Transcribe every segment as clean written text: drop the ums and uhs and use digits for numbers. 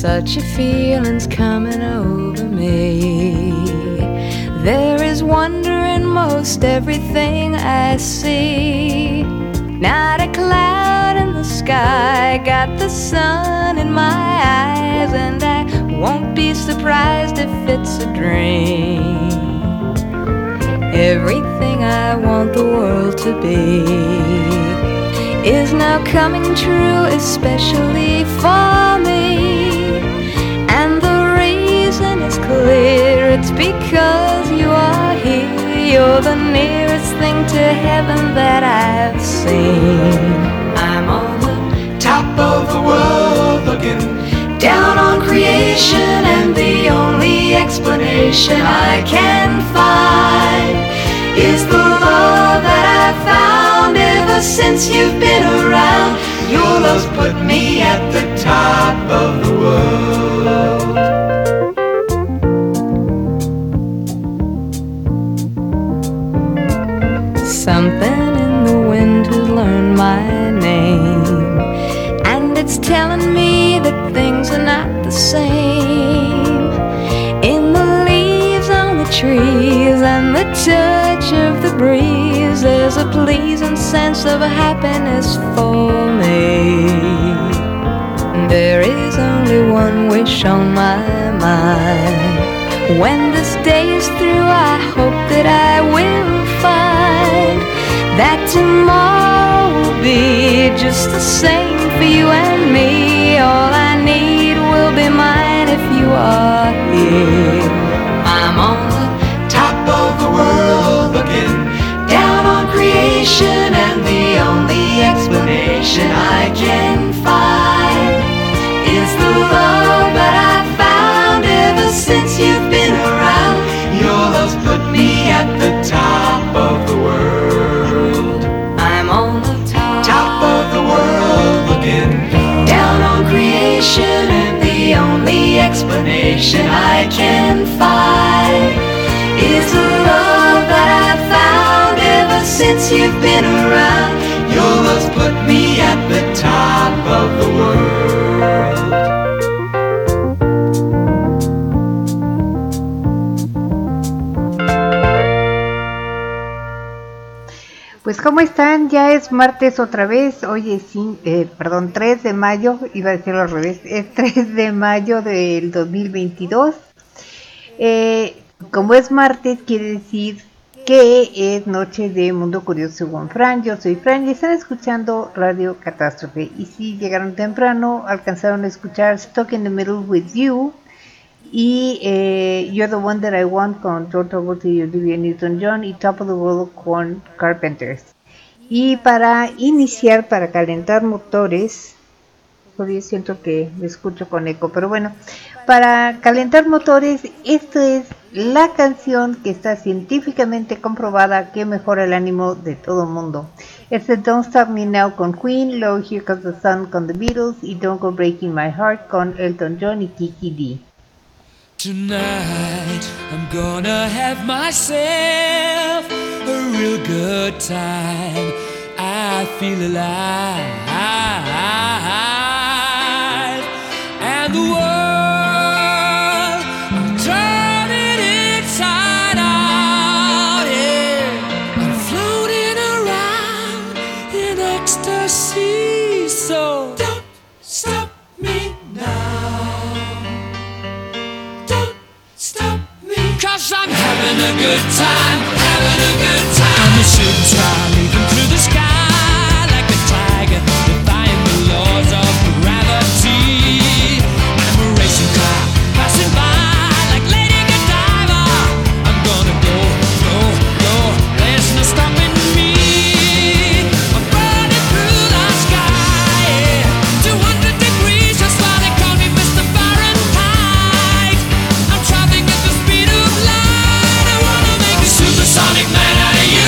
Such a feeling's coming over me. There is wonder in most everything I see. Not a cloud in the sky, got the sun in my eyes, and I won't be surprised if it's a dream. Everything I want the world to be is now coming true, especially for me. And the reason is clear, it's because you are here. You're the nearest thing to heaven that I've seen. I'm on the top of the world looking down on creation, and the only explanation I can find is the love that I've found ever since you've been around. Your love's put me at the top of the world. Something in the wind has learned my name, and it's telling me that things are not the same. In the leaves on the trees and the touch of the breeze, there's a pleasing sense of happiness for me. There is only one wish on my mind. When this day is through, I hope that I will find that tomorrow will be just the same for you and me. All I need will be mine if you are here. I'm on the top of the world looking down on creation, and the only explanation I can find is the love that I found ever since you've been around. Your love's put me at the top of the world. I'm on the top of the world looking down on creation, and the only explanation I can find is the love that I found ever since you've been around. Your love's put me at the top of the world. Pues ¿cómo están? Ya es martes otra vez. Hoy es 3 de mayo, iba a decirlo al revés, es 3 de mayo del 2022. Como es martes, quiere decir que es noche de Mundo Curioso según Fran. Yo soy Fran y están escuchando Radio Catástrofe. Y si llegaron temprano, alcanzaron a escuchar Stuck in the Middle with You y You're the One That I Want con John Travolta y Olivia Newton-John, y Top of the World con Carpenters. Y para iniciar, para calentar motores, todavía siento que me escucho con eco, pero bueno, para calentar motores, esta es la canción que está científicamente comprobada que mejora el ánimo de todo el mundo. Es de Don't Stop Me Now con Queen, luego Here Comes the Sun con The Beatles y Don't Go Breaking My Heart con Elton John y Kiki D. Tonight I'm gonna have myself a real good time. I feel alive, and the world I'm turning inside out. Yeah, I'm floating around in ecstasy. So don't stop me now. Cause I'm having a good time, having a good time. I'm a shooting star leaping through the sky like a tiger, defying the laws of gravity. I'm a racing car passing by like Lady Godiva. I'm gonna go, go, go, there's no stopping me. I'm burning through the sky, yeah. 200 degrees, that's why they call me Mr. Fahrenheit. I'm traveling at the speed of light. I wanna make a supersonic man out of you.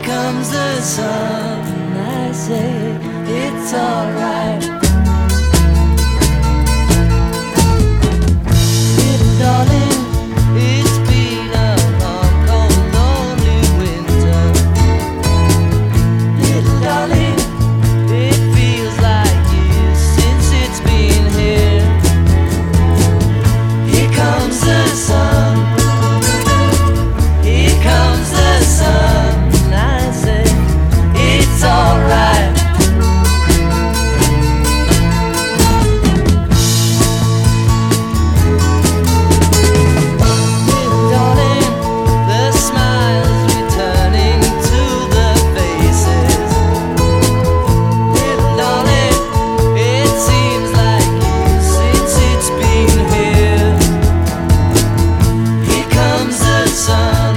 comes the sun, and I say it's alright. Little darling, it's been a long, cold, lonely winter. Little darling, it feels like years since it's been here. Here comes the sun. Here comes the sun, and I say it's alright. Darling, the smiles returning to the faces. Little darling, it seems like years since it's been here. Here comes the sun.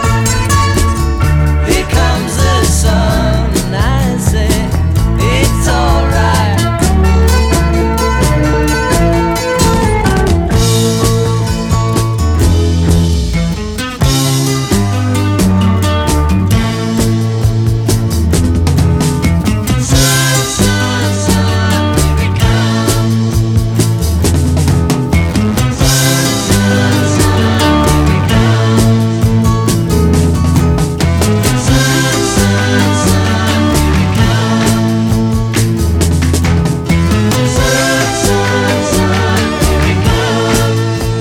Here comes the sun, and I say it's alright. Sun, sun, sun, here it comes. Sun, sun, sun, here it comes. Sun, sun, sun, here it comes. Sun, sun, sun, here it comes.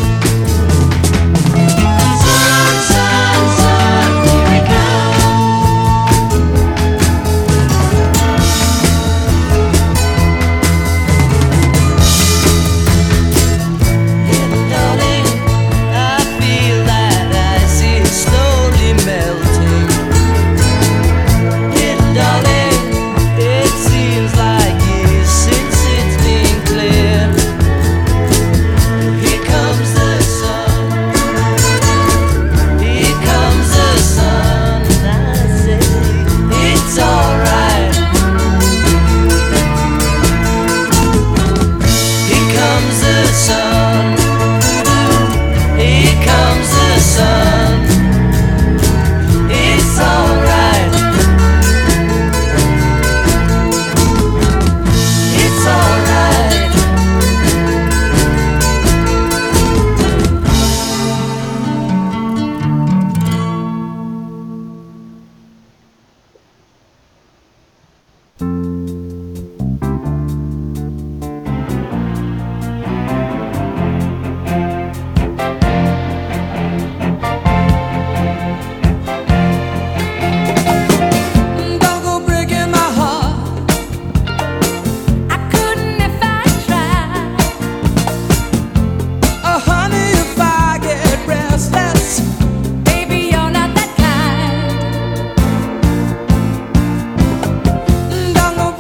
Sun, sun, sun, here it Little darling, I feel that ice is slowly melting. Little darling, it seems like years since it's been clear. Here comes the sun. Here comes the sun, and I say it's alright. Here comes the sun. Here comes the sun. It's alright. It's alright. Don't go breaking my heart. I couldn't if I tried. Oh, honey, if I get restless, Baby, you're not that kind. don't go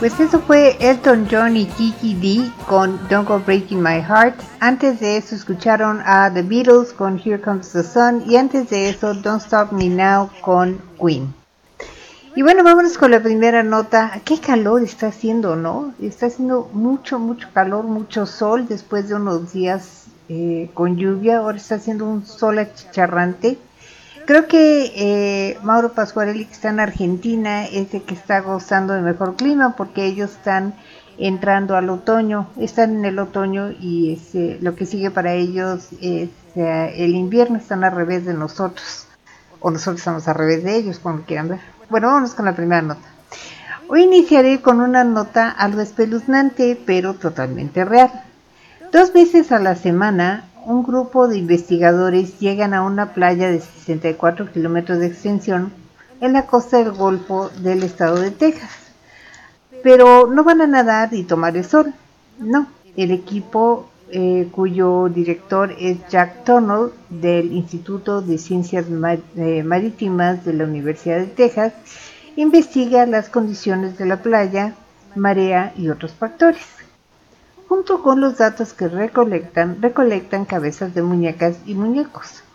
Pues eso fue Elton John y Kiki Dee con Don't Go Breaking My Heart. Antes de eso escucharon a The Beatles con Here Comes the Sun. Y antes de eso Don't Stop Me Now con Queen. Y bueno, vámonos con la primera nota. Qué calor está haciendo, ¿no? Está haciendo mucho calor, mucho sol después de unos días con lluvia. Ahora está haciendo un sol achicharrante. Creo que Mauro Pasquarelli, que está en Argentina, es el que está gozando de mejor clima porque ellos están entrando al otoño, están en el otoño y lo que sigue para ellos es el invierno, están al revés de nosotros, o nosotros estamos al revés de ellos, como quieran ver. Bueno, vámonos con la primera nota. Hoy iniciaré con una nota algo espeluznante, pero totalmente real. 2 veces a la semana, un grupo de investigadores llegan a una playa de 64 kilómetros de extensión en la costa del Golfo del estado de Texas. Pero no van a nadar y tomar el sol. No, el equipo cuyo director es Jack Tunnell del Instituto de Ciencias Marítimas de la Universidad de Texas, investiga las condiciones de la playa, marea y otros factores. Junto con los datos que recolectan cabezas de muñecas y muñecos,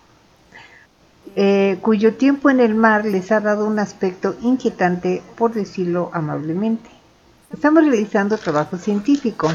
cuyo tiempo en el mar les ha dado un aspecto inquietante, por decirlo amablemente. Estamos realizando trabajo científico,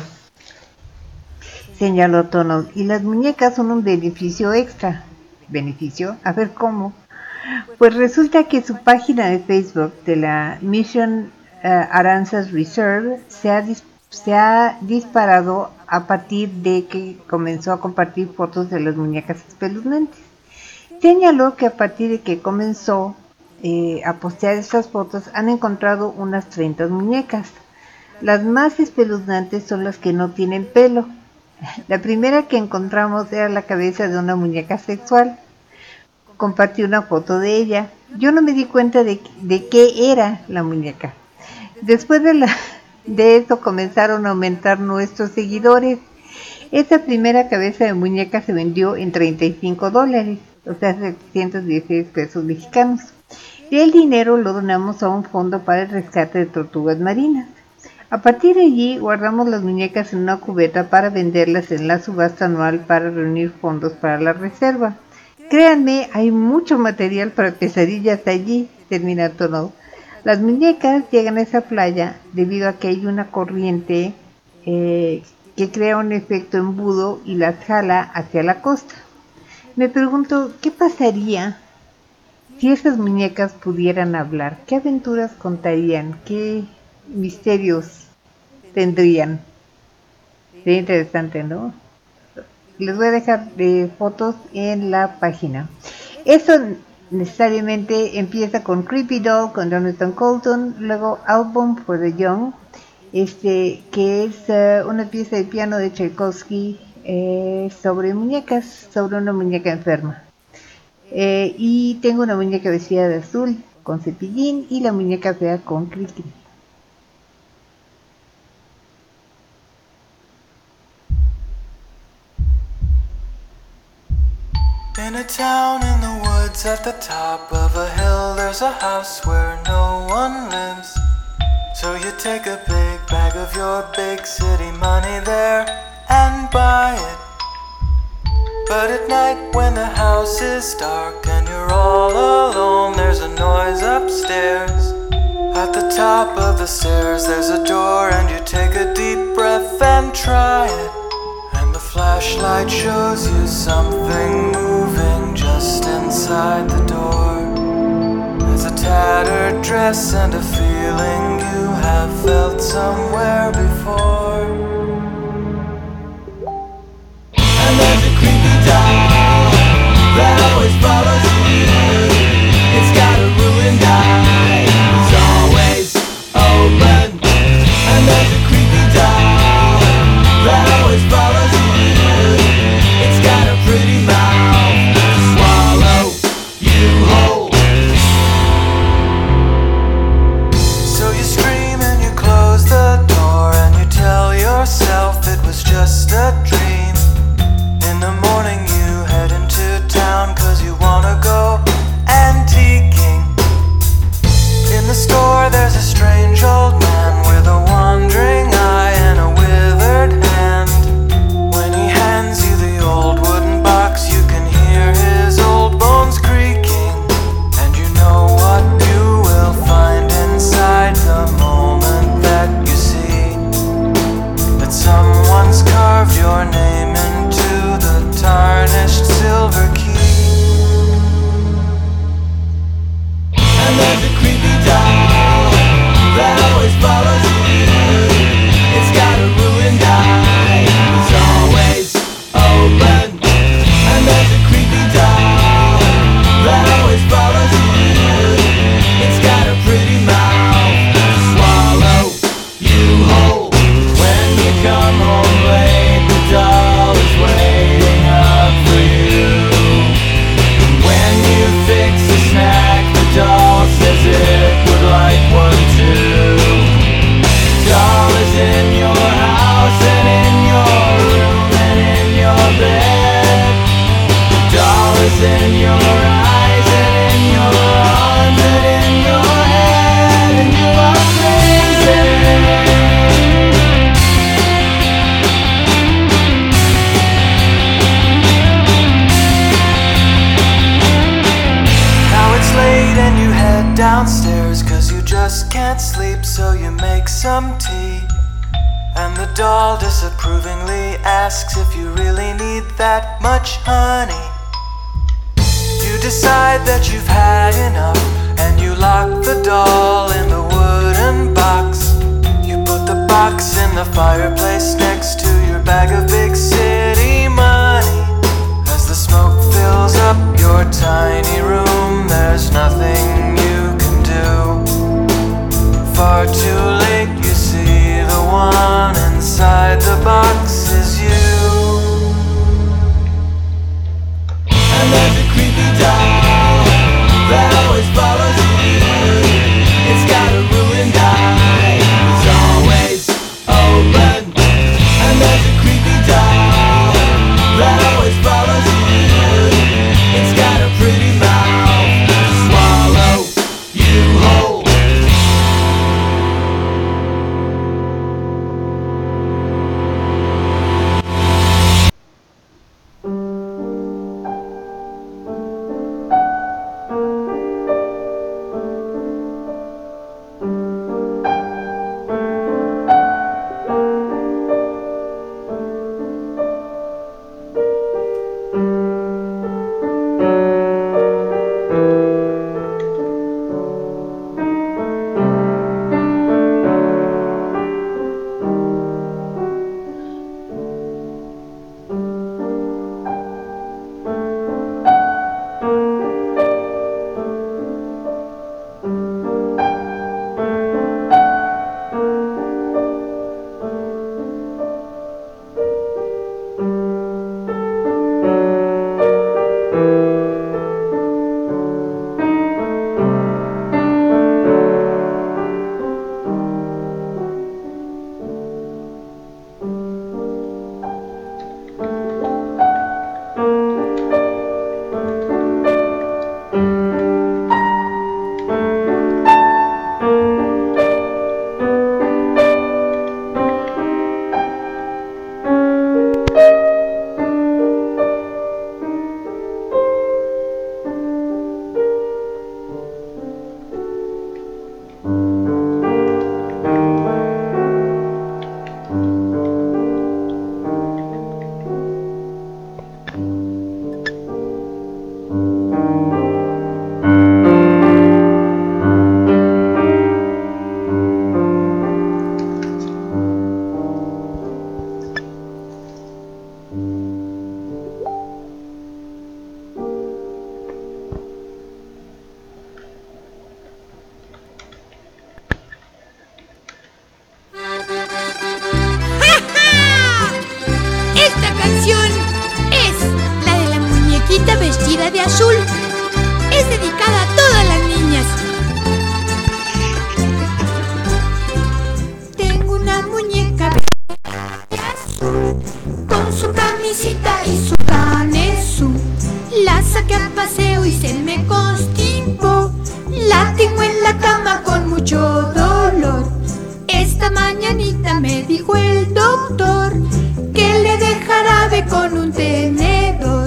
señaló Tunnell, y las muñecas son un beneficio extra. ¿Beneficio? A ver cómo. Pues resulta que su página de Facebook de la Mission Aransas Reserve se ha disparado a partir de que comenzó a compartir fotos de las muñecas espeluznantes. Señaló que a partir de que comenzó a postear estas fotos han encontrado unas 30 muñecas. Las más espeluznantes son las que no tienen pelo. La primera que encontramos era la cabeza de una muñeca sexual. Compartí una foto de ella. Yo no me di cuenta de qué era la muñeca. Después de eso comenzaron a aumentar nuestros seguidores. Esta primera cabeza de muñeca se vendió en $35, o sea, 716 pesos mexicanos. Y el dinero lo donamos a un fondo para el rescate de tortugas marinas. A partir de allí guardamos las muñecas en una cubeta para venderlas en la subasta anual para reunir fondos para la reserva. Créanme, hay mucho material para pesadillas allí, termina Tunnell. Las muñecas llegan a esa playa debido a que hay una corriente que crea un efecto embudo y las jala hacia la costa. Me pregunto, ¿qué pasaría si esas muñecas pudieran hablar? ¿Qué aventuras contarían? ¿Qué misterios tendrían? Sería interesante, ¿no? Les voy a dejar fotos en la página. Eso necesariamente empieza con Creepy Doll, con Jonathan Coulton, luego Album for the Young, que es una pieza de piano de Tchaikovsky sobre muñecas, sobre una muñeca enferma. Y tengo una muñeca vestida de azul con cepillín y la muñeca fea con cri-cri. In a town in the woods at the top of a hill, there's a house where no one lives. So you take a big bag of your big city money there and buy it. But at night when the house is dark and you're all alone, there's a noise upstairs. At the top of the stairs there's a door and you take a deep breath and try it. And the flashlight shows you something moving just inside the door. There's a tattered dress and a feeling you have felt somewhere before. And there's a creepy doll that always follows you. It's got a ruined eye, it's always open. And there's a creepy doll that always follows you. It's got a pretty mouth to swallow you whole. So you scream and you close the door and you tell your in your eyes and in your arms and in your head, and you are crazy. Now it's late and you head downstairs 'cause you just can't sleep, so you make some tea. And the doll disapprovingly asks if you really need that much honey. You decide that you've had enough and you lock the doll in the wooden box. You put the box in the fireplace next to your bag of big city money. As the smoke fills up your tiny room, there's nothing you can do. Far too late, you see the one inside the box is you. And there's a creepy doll that always follows you. It's got a ruined eye, it's always open. And there's a creepy doll that always follows you. It's got a pretty mouth to swallow you whole. Vestida de azul es dedicada a todas las niñas. Tengo una muñeca de azul con su camisita y su canesú. La saqué a paseo y se me constipó. La tengo en la cama con mucho dolor. Esta mañanita me dijo el doctor que le dé jarabe con un tenedor.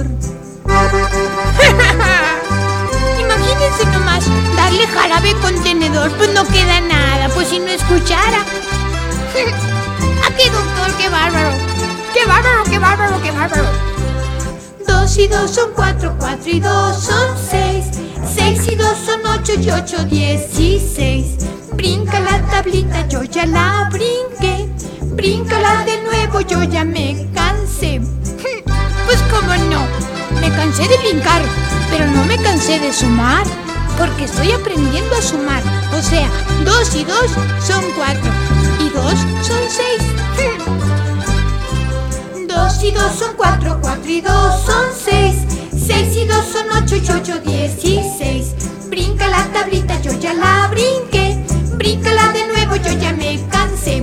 Imagínense nomás, darle jarabe con tenedor, pues no queda nada, pues si no escuchara. ¿A qué doctor? ¡Qué bárbaro! ¡Qué bárbaro, qué bárbaro, qué bárbaro! 2 y 2 son 4, 4 y 2 son 6, 6 y 2 son 8 y 8, 16. Brinca la tablita, yo ya la brinqué. Bríncala de nuevo, yo ya me cansé. Pues cómo no, me cansé de brincar, pero no me cansé de sumar, porque estoy aprendiendo a sumar. O sea, 2 y 2 son 4 y 2 son 6. 2 y 2 son 4, 4 y 2 son 6, 6 y 2 son 8 y 8, 16. Brinca la tablita, yo ya la brinqué. Bríncala de nuevo, yo ya me cansé.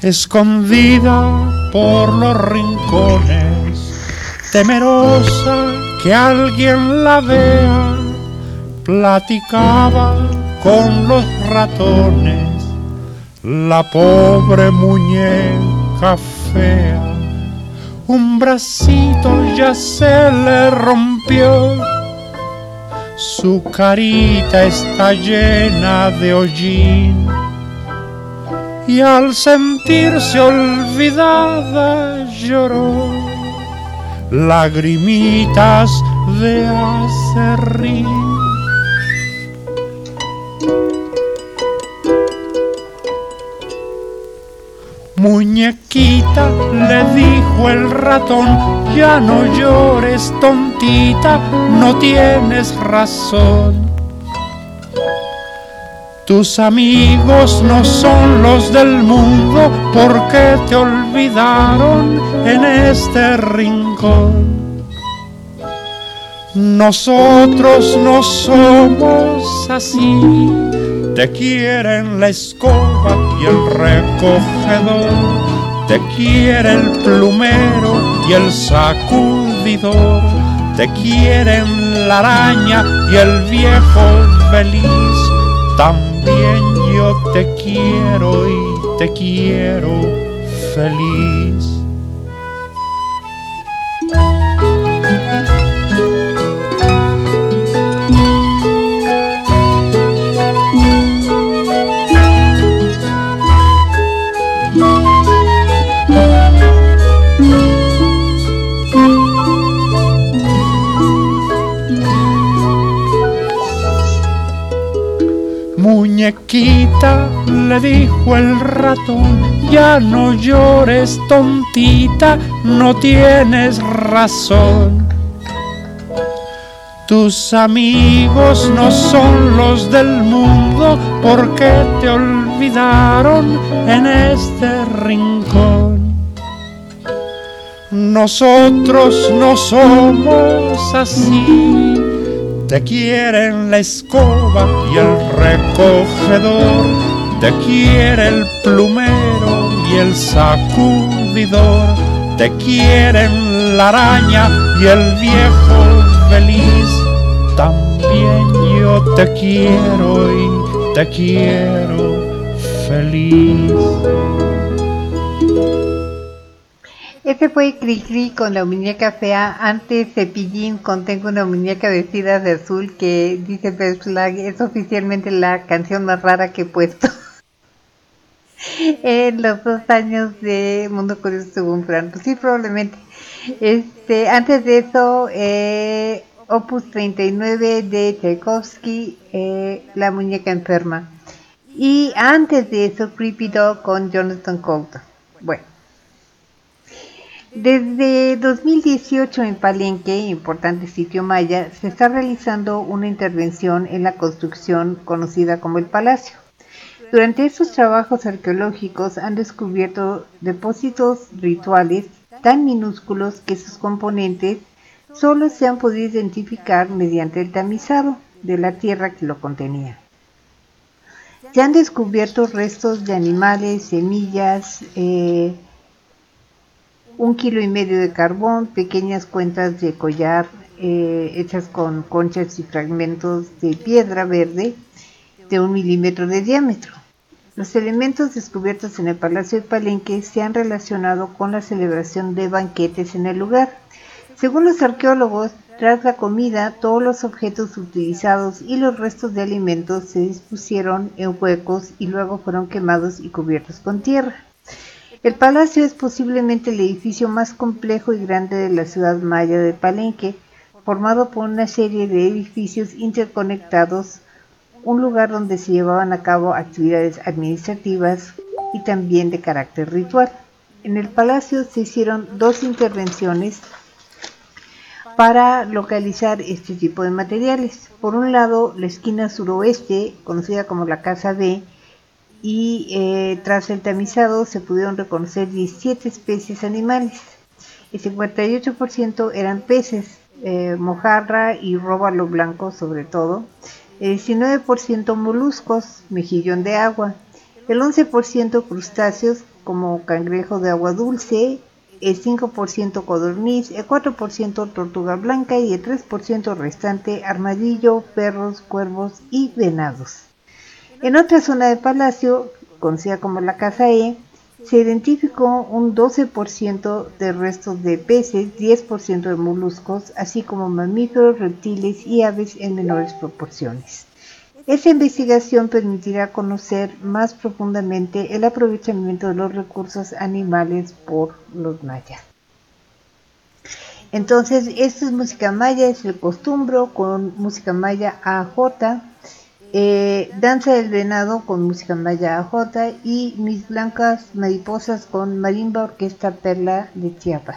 escondida por los rincones, temerosa que alguien la vea, platicaba con los ratones, la pobre muñeca fea. Un bracito ya se le rompió, su carita está llena de hollín, y al sentirse olvidada lloró lagrimitas de aserrín. Muñequita, le dijo el ratón, ya no llores, tontita, no tienes razón. Tus amigos no son los del mundo porque te olvidaron en este rincón. Nosotros no somos así, te quieren la escoba y el recogedor, te quiere el plumero y el sacudidor, te quieren la araña y el viejo feliz. También yo te quiero y te quiero feliz. Muñequita, le dijo el ratón, ya no llores, tontita, no tienes razón. Tus amigos no son los del mundo porque te olvidaron en este rincón. Nosotros no somos así, te quieren la escoba y el recogedor, te quiere el plumero y el sacudidor, te quieren la araña y el viejo feliz. También yo te quiero y te quiero feliz. Este fue Cricri con la muñeca fea. Antes Cepillín con Tengo una muñeca vestida de azul, que dice Best Flag es oficialmente la canción más rara que he puesto en los 2 años de Mundo Curioso según Fran. Pues sí, probablemente. Antes de eso, Opus 39 de Tchaikovsky, La muñeca enferma. Y antes de eso, Creepy Dog con Jonathan Coulton. Bueno. Desde 2018 en Palenque, importante sitio maya, se está realizando una intervención en la construcción conocida como el Palacio. Durante estos trabajos arqueológicos han descubierto depósitos rituales tan minúsculos que sus componentes solo se han podido identificar mediante el tamizado de la tierra que lo contenía. Se han descubierto restos de animales, semillas, 1,5 kilos de carbón, pequeñas cuentas de collar hechas con conchas y fragmentos de piedra verde de 1 milímetro de diámetro. Los elementos descubiertos en el Palacio de Palenque se han relacionado con la celebración de banquetes en el lugar. Según los arqueólogos, tras la comida, todos los objetos utilizados y los restos de alimentos se dispusieron en huecos y luego fueron quemados y cubiertos con tierra. El palacio es posiblemente el edificio más complejo y grande de la ciudad maya de Palenque, formado por una serie de edificios interconectados, un lugar donde se llevaban a cabo actividades administrativas y también de carácter ritual. En el palacio se hicieron 2 intervenciones para localizar este tipo de materiales. Por un lado, la esquina suroeste, conocida como la Casa B, y tras el tamizado se pudieron reconocer 17 especies animales. El 58% eran peces, mojarra y róbalo blanco sobre todo, el 19% moluscos, mejillón de agua, el 11% crustáceos como cangrejo de agua dulce, el 5% codorniz, el 4% tortuga blanca y el 3% restante armadillo, perros, cuervos y venados. En otra zona de Palacio, conocida como la Casa E, se identificó un 12% de restos de peces, 10% de moluscos, así como mamíferos, reptiles y aves en menores proporciones. Esta investigación permitirá conocer más profundamente el aprovechamiento de los recursos animales por los mayas. Entonces, esto es música maya, es el costumbro con música maya AJ, Danza del Venado con música maya AJ y Mis Blancas Mariposas con Marimba Orquesta Perla de Chiapas.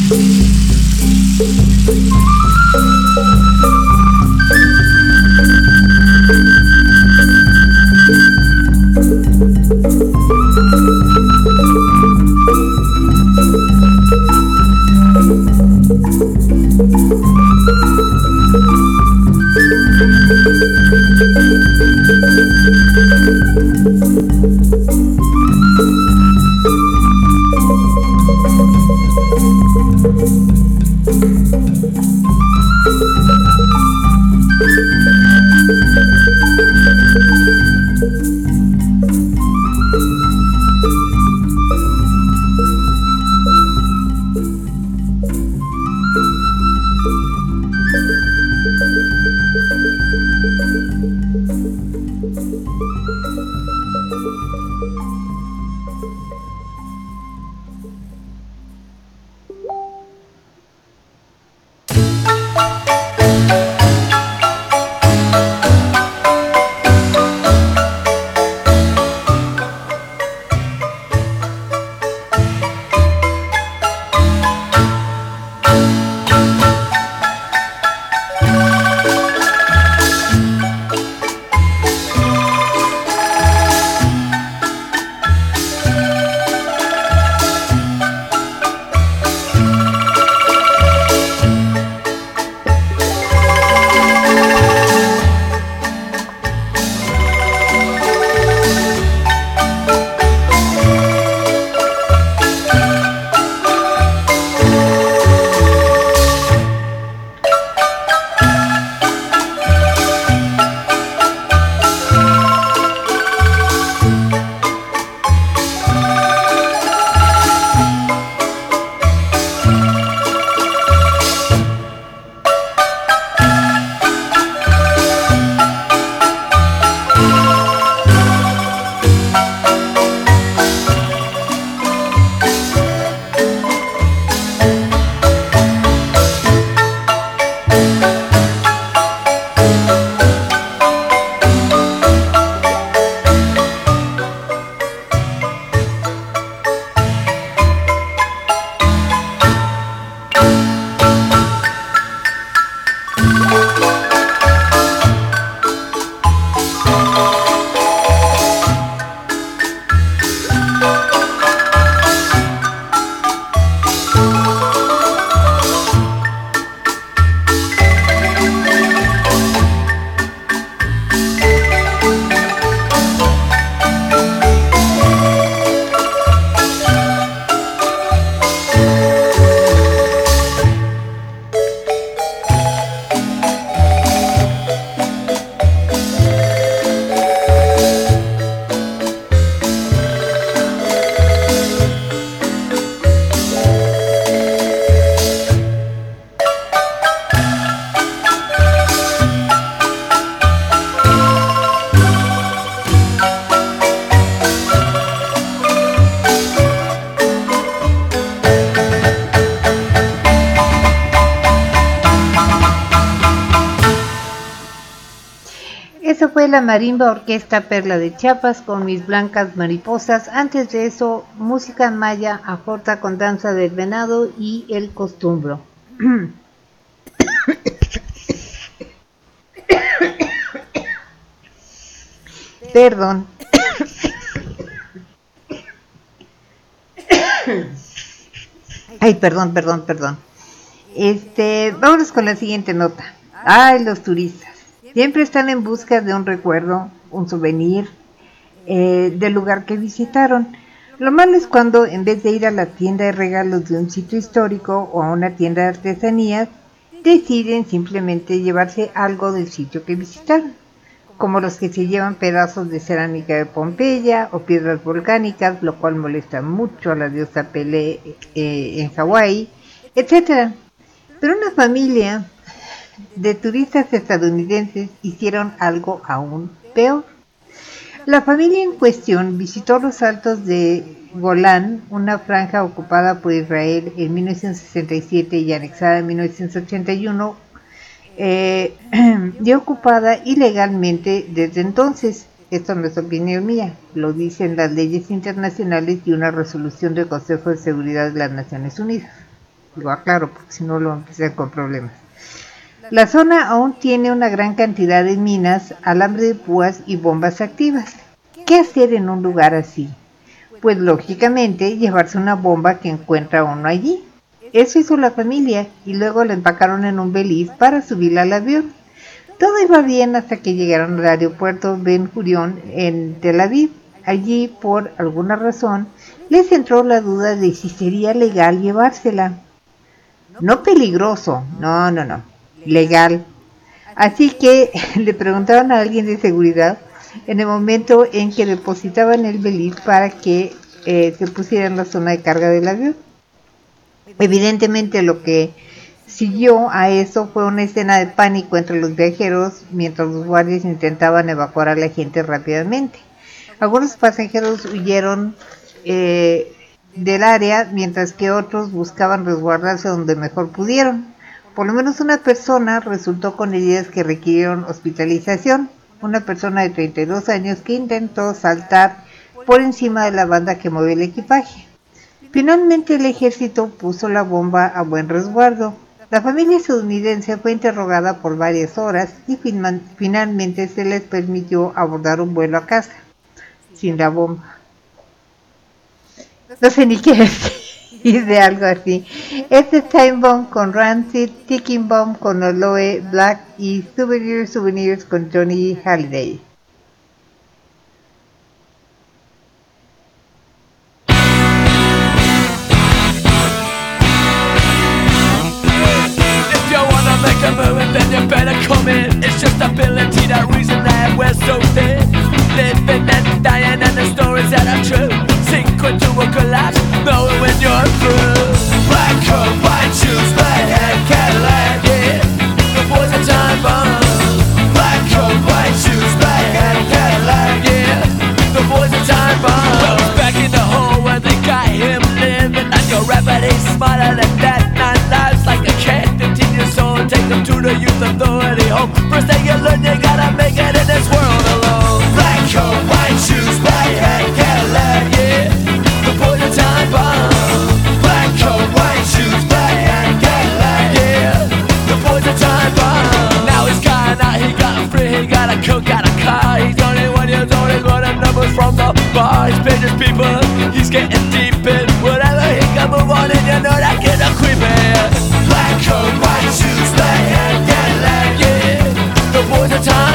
Esa fue la Marimba Orquesta Perla de Chiapas con Mis Blancas Mariposas. Antes de eso, música maya, ajota con Danza del Venado y El Costumbro. Perdón. Ay, perdón. Vámonos con la siguiente nota. Ay, los turistas. Siempre están en busca de un recuerdo, un souvenir del lugar que visitaron. Lo malo es cuando en vez de ir a la tienda de regalos de un sitio histórico o a una tienda de artesanías, deciden simplemente llevarse algo del sitio que visitaron, como los que se llevan pedazos de cerámica de Pompeya o piedras volcánicas, lo cual molesta mucho a la diosa Pelé en Hawái, etc. Pero una familia de turistas estadounidenses hicieron algo aún peor. La familia en cuestión visitó los altos de Golán, una franja ocupada por Israel en 1967 y anexada en 1981, y ocupada ilegalmente desde entonces. Esto no es opinión mía, lo dicen las leyes internacionales y una resolución del Consejo de Seguridad de las Naciones Unidas. Lo aclaro porque si no lo empiezan con problemas. La zona aún tiene una gran cantidad de minas, alambre de púas y bombas activas. ¿Qué hacer en un lugar así? Pues lógicamente llevarse una bomba que encuentra uno allí. Eso hizo la familia y luego la empacaron en un Belize para subirla al avión. Todo iba bien hasta que llegaron al aeropuerto Ben Gurion en Tel Aviv. Allí, por alguna razón, les entró la duda de si sería legal llevársela. No peligroso, no, legal. Así que le preguntaron a alguien de seguridad en el momento en que depositaban el Belize para que se pusiera en la zona de carga del avión. Evidentemente lo que siguió a eso fue una escena de pánico entre los viajeros mientras los guardias intentaban evacuar a la gente rápidamente. Algunos pasajeros huyeron del área mientras que otros buscaban resguardarse donde mejor pudieron. Por lo menos una persona resultó con heridas que requirieron hospitalización. Una persona de 32 años que intentó saltar por encima de la banda que movía el equipaje. Finalmente el ejército puso la bomba a buen resguardo. La familia estadounidense fue interrogada por varias horas y finalmente se les permitió abordar un vuelo a casa, sin la bomba. No sé ni qué decir de algo así. Este es Time Bomb con Rancid, Ticking Bomb con Aloe Black y Souvenirs con Johnny Hallyday. Then you better come in. It's just ability, that reason that we're so thin. Living and dying and the stories that are true. Sink into a collapse, knowing when you're through. Black coat, white shoes, black hat, Cadillac, yeah. The boys are time bomb. Black coat, white shoes, black hat, Cadillac, yeah. The boys are time bomb. Well, it's back in the hole where they got him living. And your rapper, he's smarter than that. 9 lives like a cat, 15 years old. Take them to the youth authority home. First thing you learn, you gotta make it in this world alone. Black coat, white shoes, black hat, Cadillac, yeah. The boys are time bomb. Black coat, white shoes, black hat, Cadillac, yeah. The boys are time bomb. Now he's gone out, he got free, he got a coat, got a car. He's 21 years old, he's got the numbers from the bar. He's paid his people, he's getting deep in whatever he can move on, and you know that kid a creepin'. Black coat, white shoes, black hat, Cadillac, yeah. The boys are time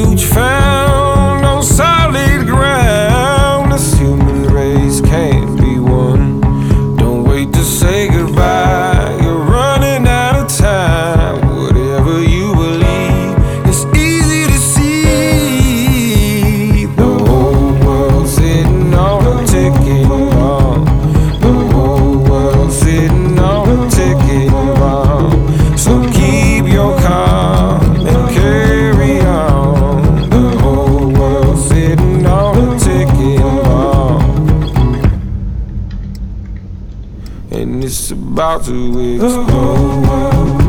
refuge found on solid ground. This human race can't be won. Don't wait to say goodbye. You're running out of time. Whatever you believe, it's easy to see. The whole world's sitting on a ticking bomb. The whole world's sitting on a ticking bomb. So keep your calm and carry on. The whole world's sitting on a ticking bomb. And it's about to explode.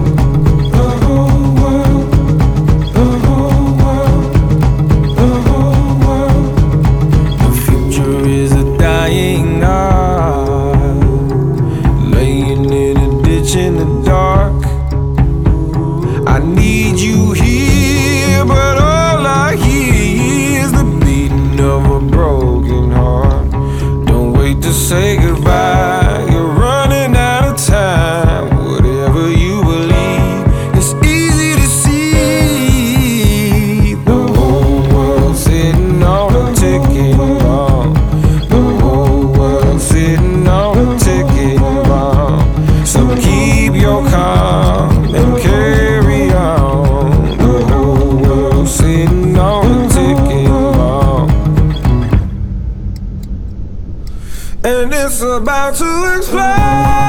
The future is a dying art, laying in a ditch in the dark. I need you here, but all I hear is the beating of a broken heart. Don't wait to say goodbye. You're running out of time. Whatever you believe, it's easy to see. The whole world's sitting on a ticking bomb. The whole world's sitting on a ticking bomb. So keep your calm and carry on. The whole world's sitting on a ticking bomb. And it's about to explode.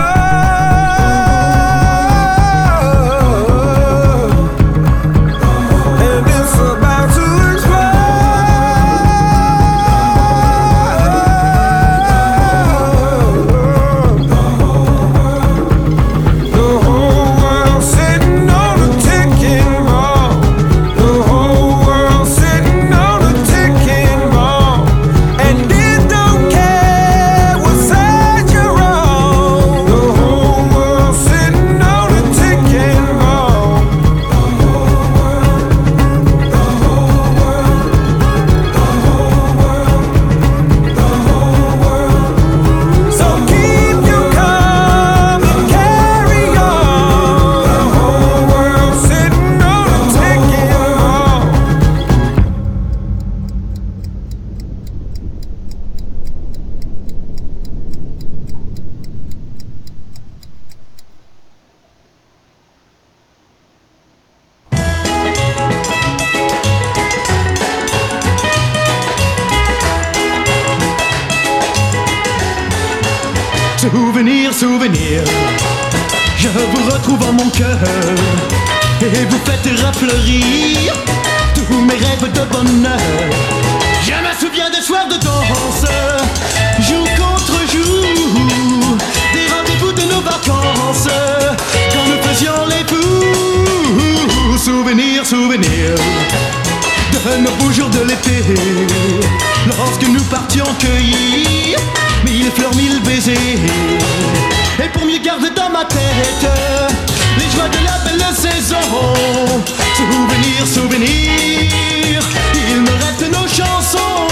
And it's about to explode. The whole world's sitting on a ticking bomb. The whole world's sitting on a ticking bomb. And it don't care what side you're on. The whole world's sitting on a ticking bomb. So keep your calm and carry on. The whole world's sitting on a ticking bomb. Souvenir, souvenir, je vous retrouve en mon cœur et vous faites refleurir tous mes rêves de bonheur. Je me souviens des soirs de danse, jour contre jour, des rendez-vous de nos vacances, quand nous faisions les fous. Souvenir, souvenir de nos beaux jours de l'été, lorsque nous partions cueillir mille fleurs, mille baisers. Et pour mieux garder dans ma tête les joies de la belle saison. Souvenir, souvenir, il me reste nos chansons.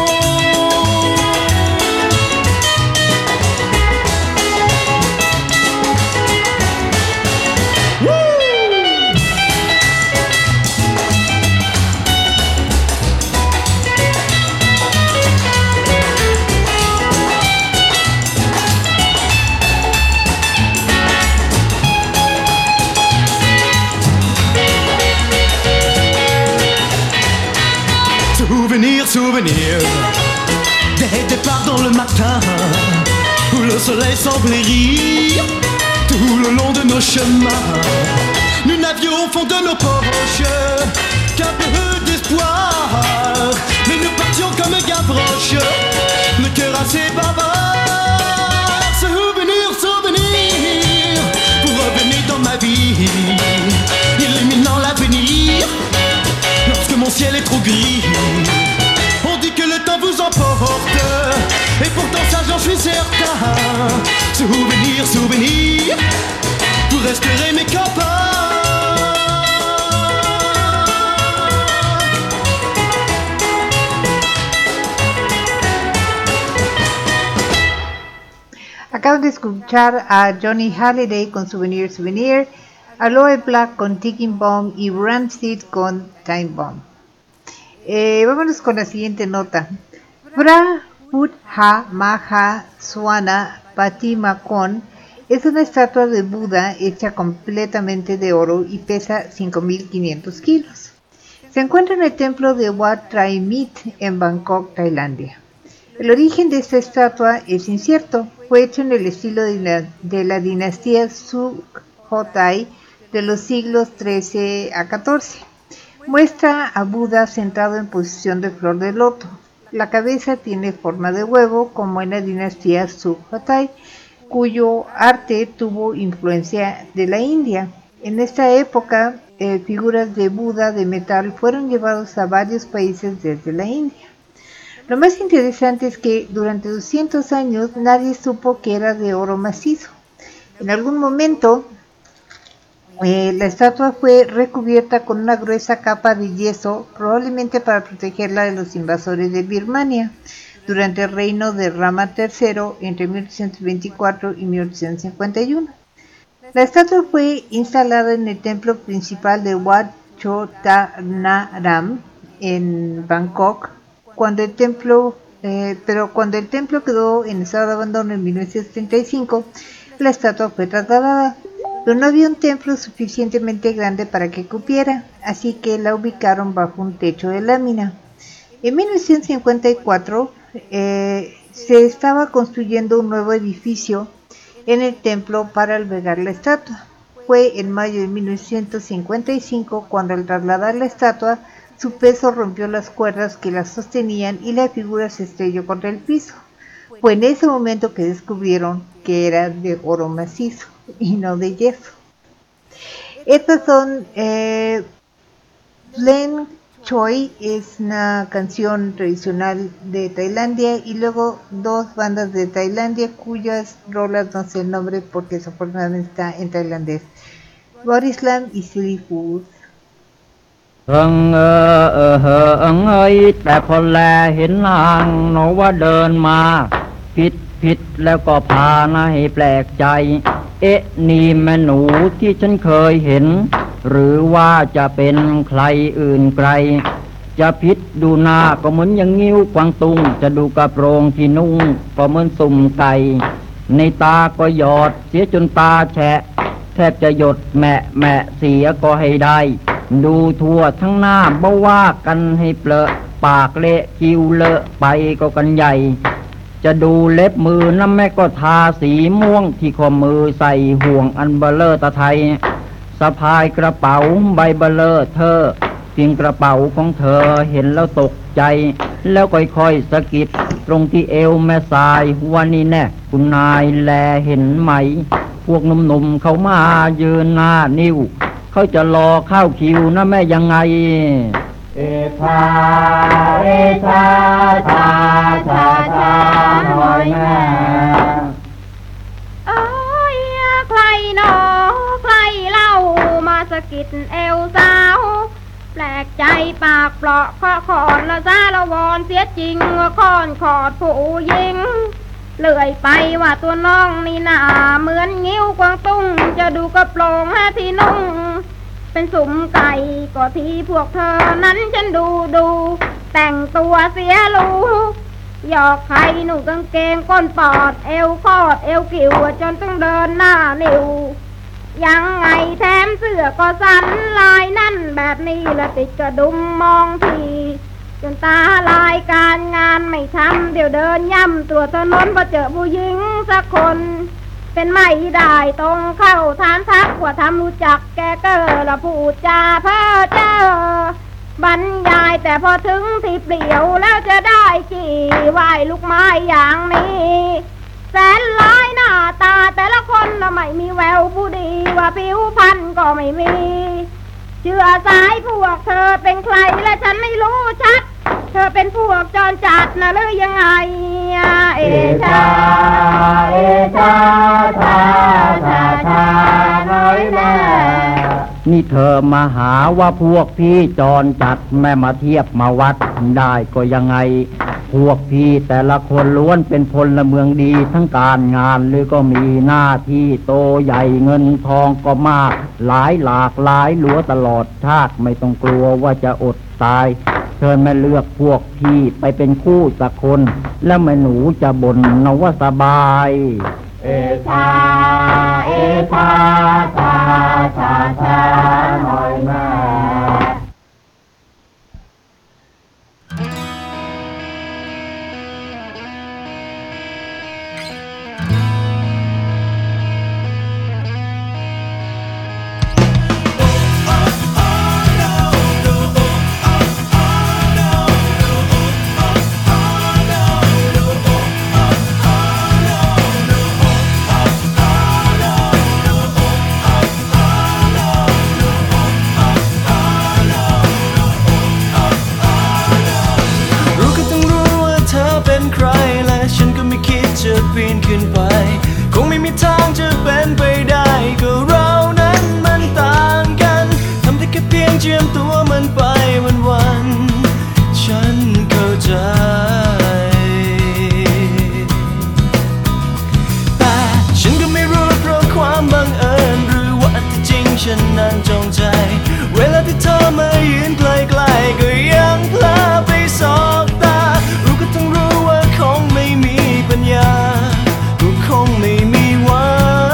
Souvenir, souvenir des départs dans le matin où le soleil semblait rire tout le long de nos chemins. Nous n'avions au fond de nos poches qu'un peu d'espoir, mais nous partions comme Gavroche, le cœur assez bavard. Souvenir, souvenir, pour revenir dans ma vie, illuminant l'avenir lorsque mon ciel est trop gris. On dit que le temps vous emporte, et pourtant ça j'en suis certain. Souvenir, souvenir, vous resterez mes copains. Acabo de escuchar a Johnny Halliday con Souvenir Souvenir, Aloe Black con Ticking Bomb y Rancid con Time Bomb. Vámonos con la siguiente nota. Prabhupada Maha Swana Patimakon es una estatua de Buda hecha completamente de oro y pesa 5.500 kilos. Se encuentra en el templo de Wat Trai Mit en Bangkok, Tailandia. El origen de esta estatua es incierto. Fue hecho en el estilo de la dinastía Sukhothai de los siglos XIII a XIV. Muestra a Buda sentado en posición de flor de loto. La cabeza tiene forma de huevo, como en la dinastía Sukhothai, cuyo arte tuvo influencia de la India. En esta época, figuras de Buda de metal fueron llevados a varios países desde la India. Lo más interesante es que durante 200 años nadie supo que era de oro macizo. En algún momento, la estatua fue recubierta con una gruesa capa de yeso, probablemente para protegerla de los invasores de Birmania, durante el reino de Rama III entre 1824 y 1851. La estatua fue instalada en el templo principal de Wat Chotanaram en Bangkok, pero cuando el templo quedó en estado de abandono en 1935, la estatua fue trasladada. Pero no había un templo suficientemente grande para que cupiera, así que la ubicaron bajo un techo de lámina. En 1954 se estaba construyendo un nuevo edificio en el templo para albergar la estatua. Fue en mayo de 1955 cuando al trasladar la estatua, su peso rompió las cuerdas que la sostenían y la figura se estrelló contra el piso. Fue en ese momento que descubrieron que era de oro macizo y no de yeso. Estas son Plen Choi, es una canción tradicional de Tailandia, y luego dos bandas de Tailandia cuyas rolas no sé el nombre porque desafortunadamente está en tailandés: Bodyslam y Silly Fools. แต่พอแลเห็นนางหนอว่าเดินมาผิดแล้วก็พานะให้แปลกใจเอ๊ะนี่แม่หนูที่ฉันเคยเห็นหรือว่าจะเป็นใครอื่นไกลจะพิษดูหน้าก็เหมือนอย่างงิ้วกวางตุงจะดูกระโปรงที่นุ่งก็เหมือนสุ่มไก่ในตาก็หยอดเสียจนตาแฉะแทบจะหยดแมะเสียก็ให้ได้ดูทั่วทั้งหน้าบ่ว่ากันให้เปลอะปากเละคิ้วเลอะไปก็กันใหญ่จะดูเล็บมือน้ำแม่ก็ทาสีม่วงที่ข้อมือใส่ห่วงอันเบลอตะไทยสะพายกระเป๋าใบเบลอเธอเพียงกระเป๋าของเธอเห็นแล้วตกใจแล้วค่อยๆสะกิดตรงที่เอวแม่สายว่านี่แน่คุณนายแลเห็นไหมพวกหนุ่มๆเขามายืนหน้านิ้วเขาจะรอเข้าคิวนะแม่ยังไงเอชาเอชาชาชาชาหน่อยแม่เอ้ยใครหนอใครเล่ามาสะกิดเอวสาวแปลกใจปากเปราะขอขอนละซาละวอนเสียจริงว่าคอนขอดผู้หญิงเลื่อยไปว่าตัวน้องนี่หน้าเหมือนงิ้วกวางตุ้งจะดูกระโปรงที่นุ่งเป็นสุ่มไก่ก็ที่พวกเธอนั้นฉันดูแต่งตัวเสียรู้หยอกใครหนุ่งกางเกงก้นปอดเอวคอดเอวกิ่วจนต้องเดินหน้านิ่วยังไงแถมเสื้อก็สันลายนั่นแบบนี้ละติดกระดุมมองทีจนตาลายการงานไม่ทำเดี๋ยวเดินย่ำตัวถนนพอเจอผู้หญิงสักคนเป็นไม่ได้ตรงเข้าทานทักว่าทำรู้จักแกเกอละพูดจาเพ้อเจ้อบรรยายแต่พอถึงที่เปลี่ยวแล้วจะได้กี่ไหวลูกไม้อย่างนี้แสนร้ายหน้าตาแต่ละคนละไม่มีแววผู้ดีว่าผิวพรรณก็ไม่มีเชื่อสายพวกเธอเป็นใครและฉันไม่รู้ชัดเธอเป็นพวกจรจัดนะหรือยังไงเอชาเอชาชาชาชาน้อยแม่นี่เธอมาหาว่าพวกพี่จรจัดแม่มาเทียบมาวัดได้ก็ยังไงพวกพี่แต่ละคนล้วนเป็นพลเมืองดีทั้งการงานหรือก็มีหน้าที่โตใหญ่เงินทองก็มากหลายหลากหลายหลัวตลอดชาติไม่ต้องกลัวว่าจะอดตายชิญแม่เลือกพวกพี่ไปเป็นคู่สักคน แล้วแม่หนูจะบ่นนะว่าสบายเอชาเอชาชาชาชาหน่อยแม่จะปีนขึ้นไปคงไม่มีทางจะเป็นไปได้ก็เรานั้นมันต่างกันทำได้แค่เพียงเจียมตัวมันไปวันๆฉันเข้าใจแต่ฉันก็ไม่รู้เพราะความบังเอิญหรือว่าที่จริงฉันนั้นจงใจเวลาที่เธอมายืนใกล้ๆก็ยังเพลอไปสบตารู้ก็ต้องรู้ว่าคงไม่มีปัญญาก็คงไม่มีหวั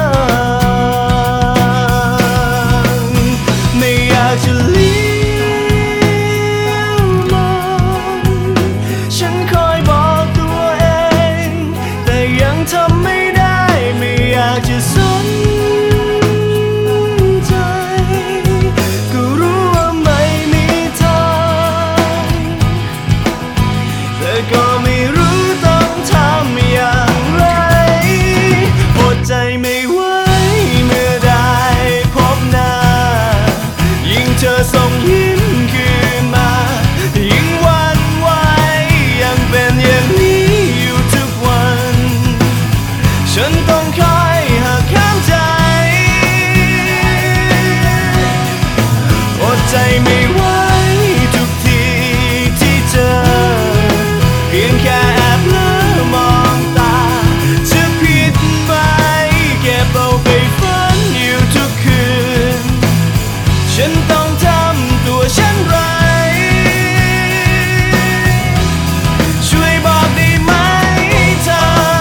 งไม่อยากจะเลี้ยวมองฉันคอยบอกตัวเองแต่ยังทำไม่ได้ไม่อยากจะสนใจก็รู้ว่าไม่มีทางแต่ก็ไม่รู้ต้องทำอย่างไรอดใจไม่ไหวเมื่อได้พบหน้ายิ่งเธอส่งยิ้มคืนมายิ่งหวั่นไหวยังเป็นอย่างนี้อยู่ทุกวันฉันต้องคอยหักห้ามใจอดใจไม่ไหวทุกทีที่เจอเพียงแค่แอบเลิมองตาจะผิดไหมแค่เบาไปฝันอยู่ทุกคืนฉันต้องทำตัวเช่นไรช่วยบอกได้ไหมเธอ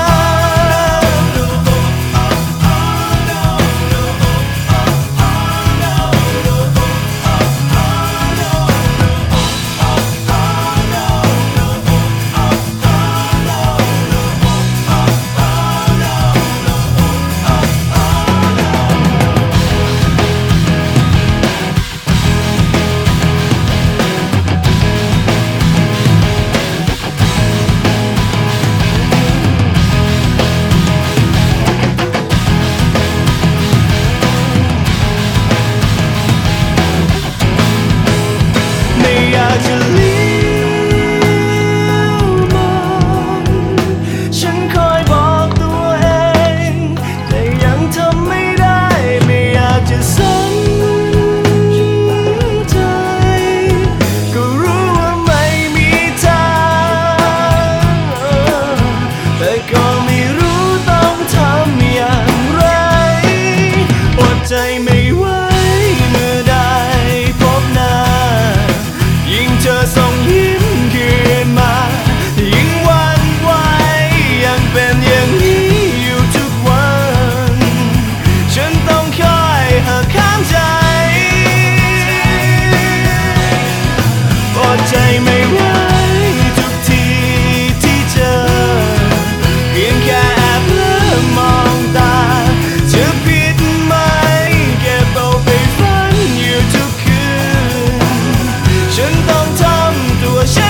ไม่อยากจะเลี้ยวมองฉันคอยบอกตัวเองแต่ยังทำไม่ได้ไม่อยากจะสนใจก็รู้ว่าไม่มีทางแต่ก็ไม่รู้ต้องทำอย่างไรอดใจไม่ไหวเมื่อได้พบหน้ายิ่งเธอส่งยิ้มคืนมายิ่งหวั่นไหวยังเป็นอย่างนี้อยู่ทุกวันฉันต้องคอยหักห้ามใจอดใจไม่ไหวทุกทีที่เจอเพียงแค่แอบเลิมองตาจะผิดไหมแค่เบาไปฝันอยู่ทุกคืนฉันต้องทำตัวฉั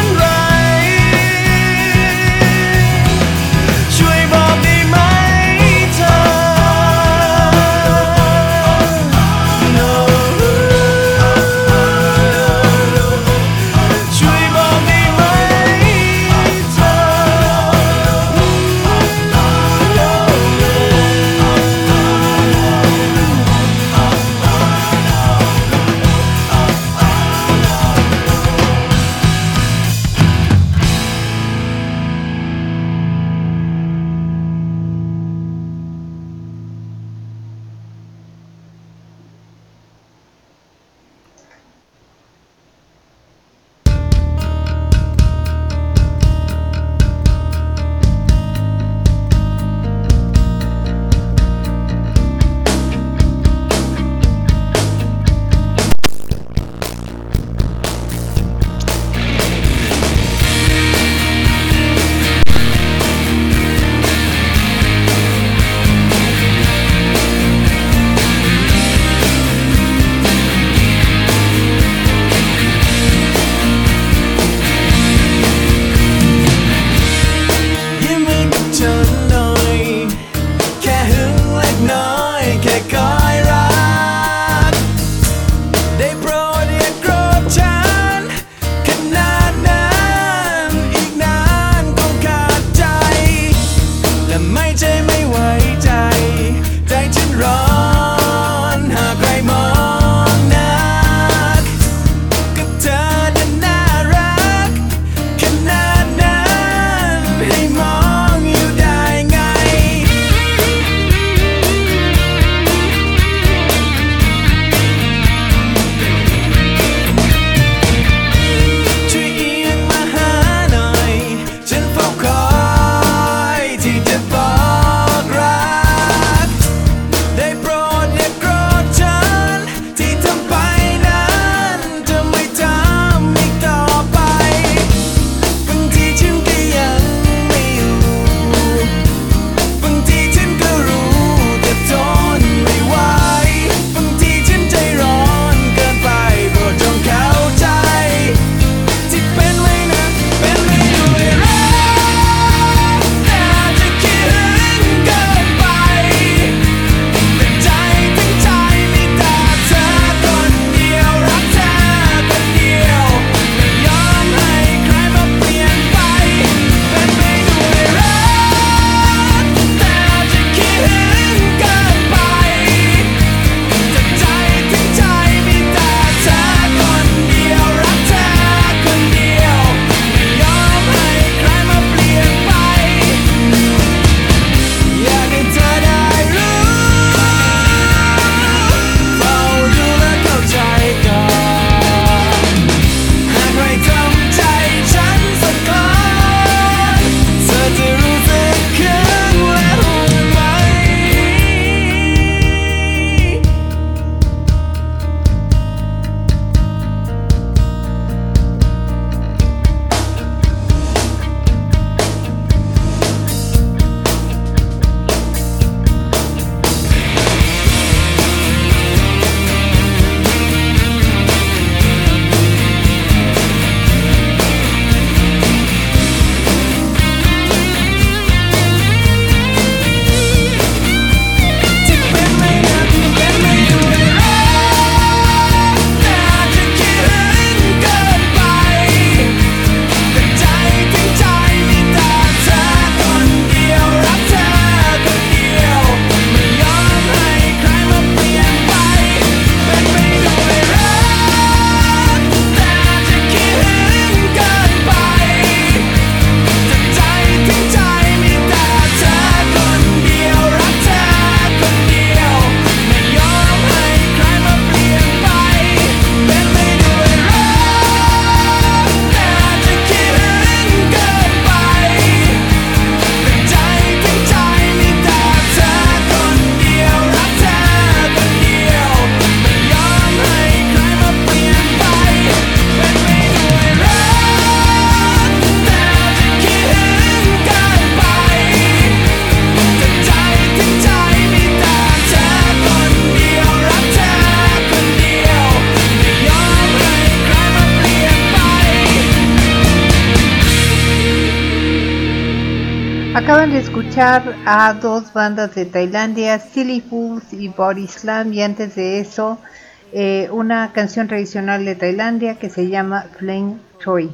Acaban de escuchar a dos bandas de Tailandia, Silly Fools y Body Slam, y antes de eso una canción tradicional de Tailandia que se llama Flame Choi.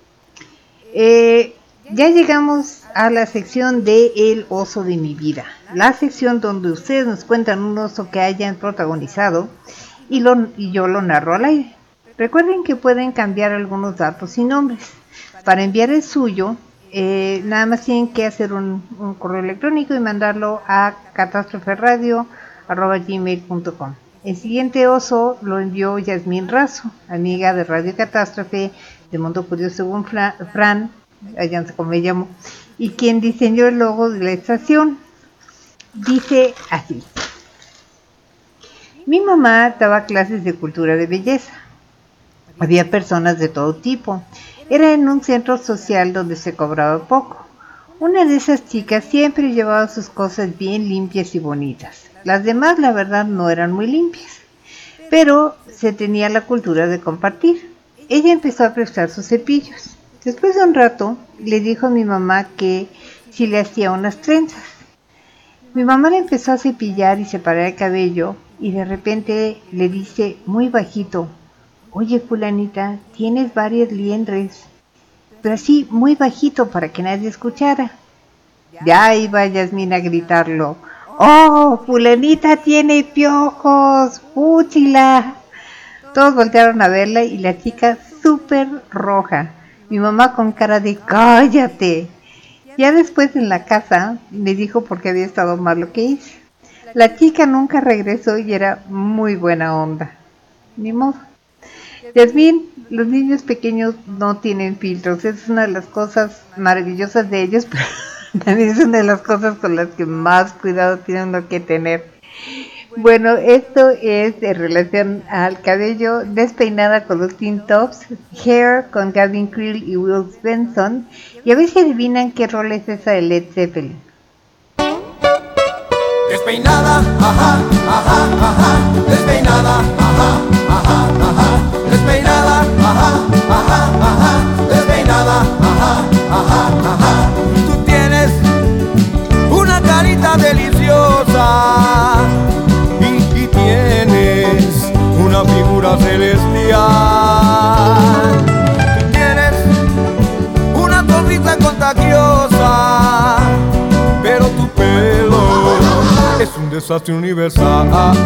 Ya llegamos a la sección de El oso de mi vida, la sección donde ustedes nos cuentan un oso que hayan protagonizado y yo lo narro al aire. Recuerden que pueden cambiar algunos datos y nombres. Para enviar el suyo, nada más tienen que hacer un correo electrónico y mandarlo a catástroferadio@gmail.com. El siguiente oso lo envió Yasmín Razo, amiga de Radio Catástrofe, de Mundo Curioso según Fran, allá no sé cómo me llamo, y quien diseñó el logo de la estación. Dice así: mi mamá daba clases de cultura de belleza. Había personas de todo tipo. Era en un centro social donde se cobraba poco. Una de esas chicas siempre llevaba sus cosas bien limpias y bonitas. Las demás, la verdad, no eran muy limpias, pero se tenía la cultura de compartir. Ella empezó a prestar sus cepillos. Después de un rato, le dijo a mi mamá que si le hacía unas trenzas. Mi mamá le empezó a cepillar y separar el cabello, y de repente le dice muy bajito: oye, fulanita, tienes varias liendres, pero así muy bajito para que nadie escuchara. Ya iba Yasmín a gritarlo: ¡oh, fulanita tiene piojos! ¡Fúchila! Todos voltearon a verla y la chica súper roja. Mi mamá con cara de ¡cállate! Ya después en la casa me dijo por qué había estado mal lo que hice. La chica nunca regresó y era muy buena onda. Ni modo. Yasmín, los niños pequeños no tienen filtros. Es una de las cosas maravillosas de ellos, pero también es una de las cosas con las que más cuidado tienen uno que tener. Bueno, esto es en relación al cabello, Despeinada con los Teen Tops, Hair con Gavin Creel y Will Benson, y a ver si adivinan qué rol es esa de Led Zeppelin. Despeinada, ajá, ajá, ajá, despeinada, ajá, ajá, ajá, despeinada, ajá, ajá, ajá, despeinada, ajá, ajá, ajá. Tú tienes una carita deliciosa y tienes una figura celestial. Tú tienes una sonrisa contagiosa, pero tu pelo es un desastre universal.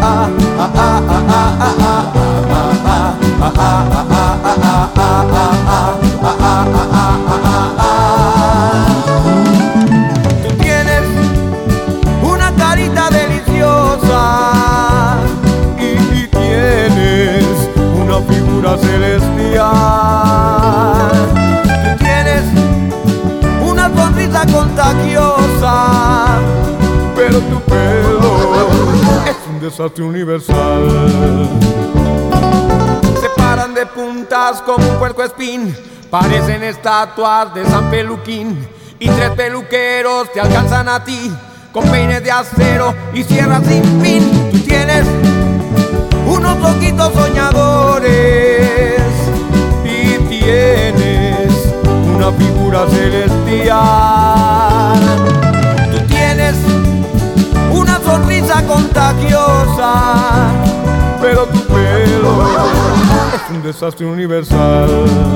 Tú tienes una carita deliciosa y tienes una figura celestial. Tú tienes una sonrisa contagiosa, pero tu pelo es un desastre universal. Se paran de puntas como un puercoespín, parecen estatuas de San Peluquín, y tres peluqueros te alcanzan a ti con peines de acero y sierras sin fin. Tú tienes unos ojitos soñadores y tienes una figura celestial. Tú tienes una sonrisa contagiosa, pero tu pelo es un desastre universal.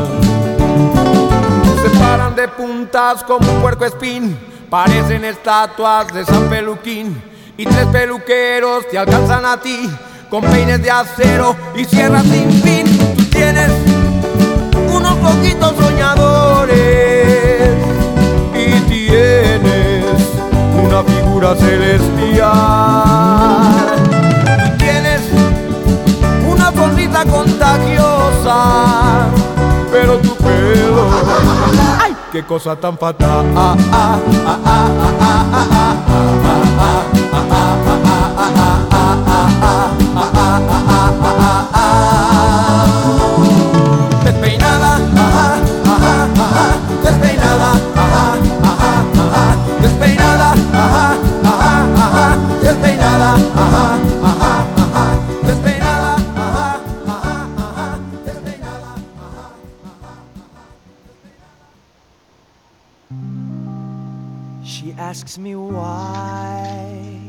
Se paran de puntas como un puercoespín, parecen estatuas de San Peluquín, y tres peluqueros te alcanzan a ti con peines de acero y sierras sin fin. Tú tienes unos ojitos soñadores y tienes una figura celestial. Tú tienes una sonrisa contagiosa, pero tu pelo, ¡ay, qué cosa tan fatal! Despeinada, ajá, ajá, ajá, despeinada, ajá, ajá, ajá, despeinada, ajá, ajá, ajá, despeinada, ajá, ajá, ajá, despeinada, ajá, ajá, ajá, despeinada, ajá, ajá. She asks me why.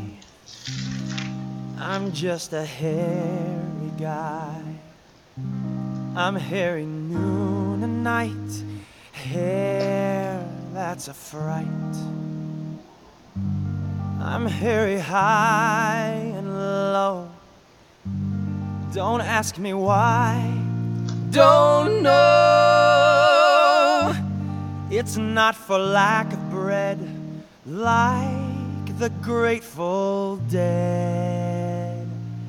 I'm just a hairy guy. I'm hairy noon and night. Hair, that's a fright. I'm hairy high and low. Don't ask me why. Don't know. It's not for lack of bread, like the Grateful Dead.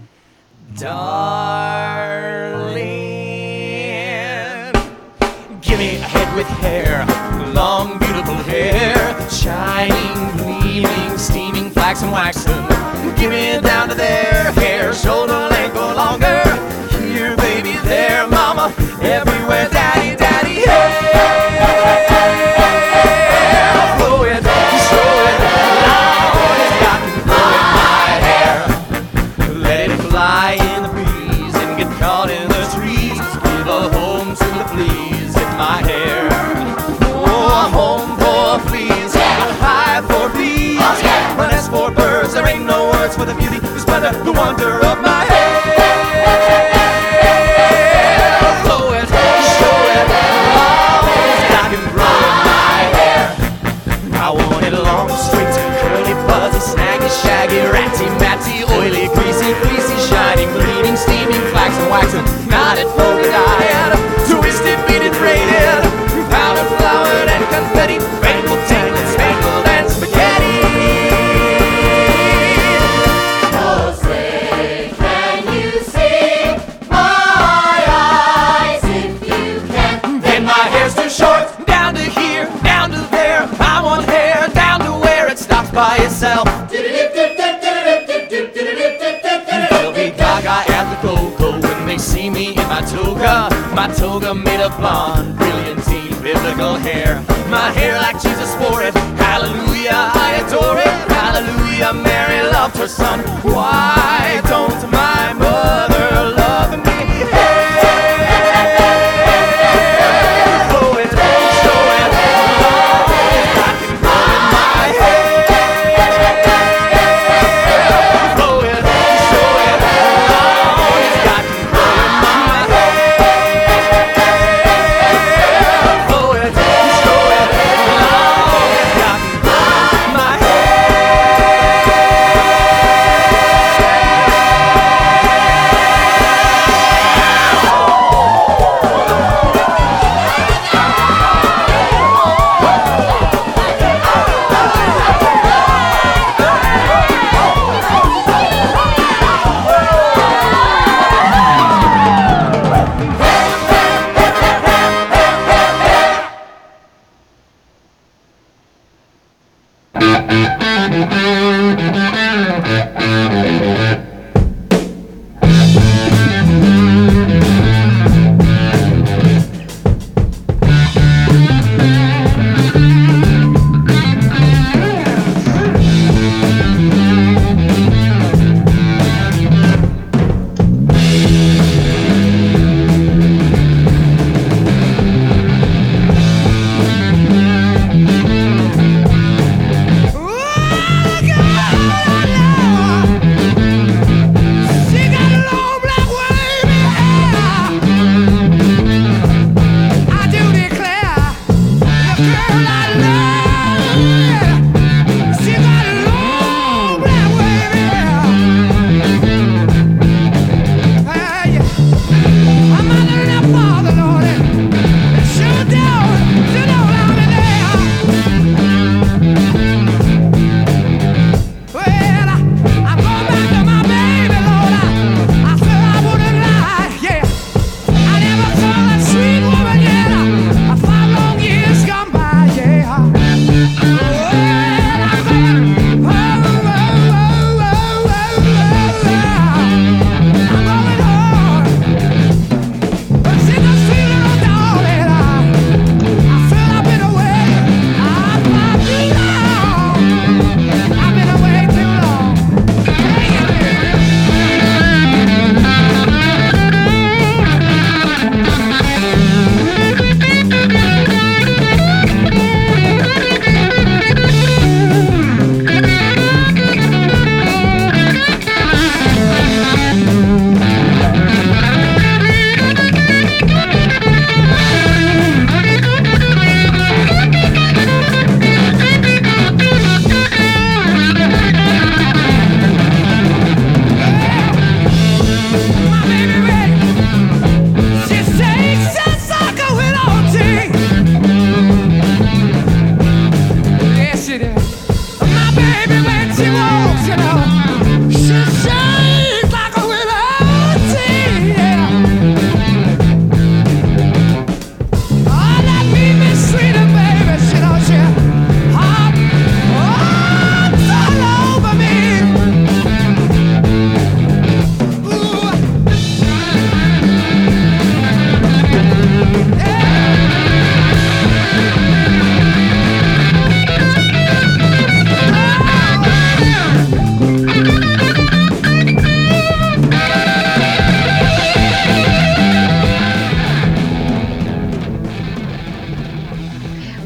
Darling, give me a head with hair, long beautiful hair, shining, gleaming, steaming, flaxen, waxen. Give me it down to there, hair, shoulder length or longer. Here, baby, there, mama, everywhere, daddy, daddy, hey. Blow it, show it, Lord, it's got me blowing my hair. Let it fly in the breeze and get caught in the trees. Give a home to the fleas in my hair. Oh, a home for fleas, a hive for bees, a nest for birds. There ain't no words for the beauty, the splendor, the wonder of my hair. Blow it, show it, oh, it's got me blowing my hair. I want it long, straight, curly, fuzzy, snaggy, shaggy, ratty, matty, oily, greasy, fleecy, shining, bleeding, steaming, flaxen, waxen, knotted, polka dyed, twisted, beaded, braided, powdered, flowered, and confetti, spangled, tangled, spangled, and spaghetti. Oh, say, can you see my eyes? If you can, Then my hair's too short, down to here, down to there. I want hair down to where it stops by itself. They'll be gaga at the go-go when they see me in my toga made of blonde, brilliantine, biblical hair. My hair like Jesus wore it, hallelujah, I adore it, hallelujah, Mary loved her son. Why don't my mother love me? Hey, blow it, show it, Lord, it's got me blowing my hair. Blow it, show it, Lord, it's got me blowing my hair. Blow it, show it, Lord, it's got me blowing my hair.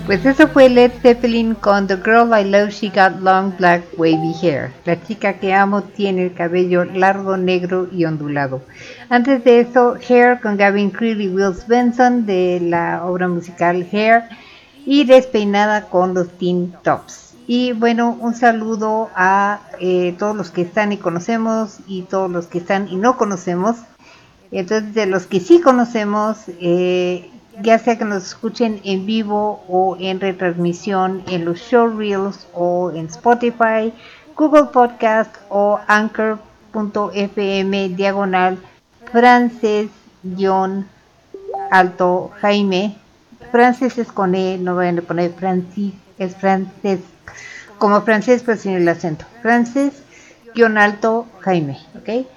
Pues eso fue Led Zeppelin con The Girl I Love, She Got Long Black Wavy Hair. La chica que amo tiene el cabello largo, negro y ondulado. Antes de eso, Hair con Gavin Creel y Will Svensson de la obra musical Hair. Y Despeinada con los Teen Tops. Y bueno, un saludo a todos los que están y conocemos y todos los que están y no conocemos. Entonces, de los que sí conocemos, ya sea que nos escuchen en vivo o en retransmisión en los showreels o en Spotify, Google Podcast o Anchor.fm /Frances-Alto Jaime. Frances es con E, no vayan a poner Francis, es Frances, como francés pero sin el acento. Frances-Alto Jaime, ¿ok?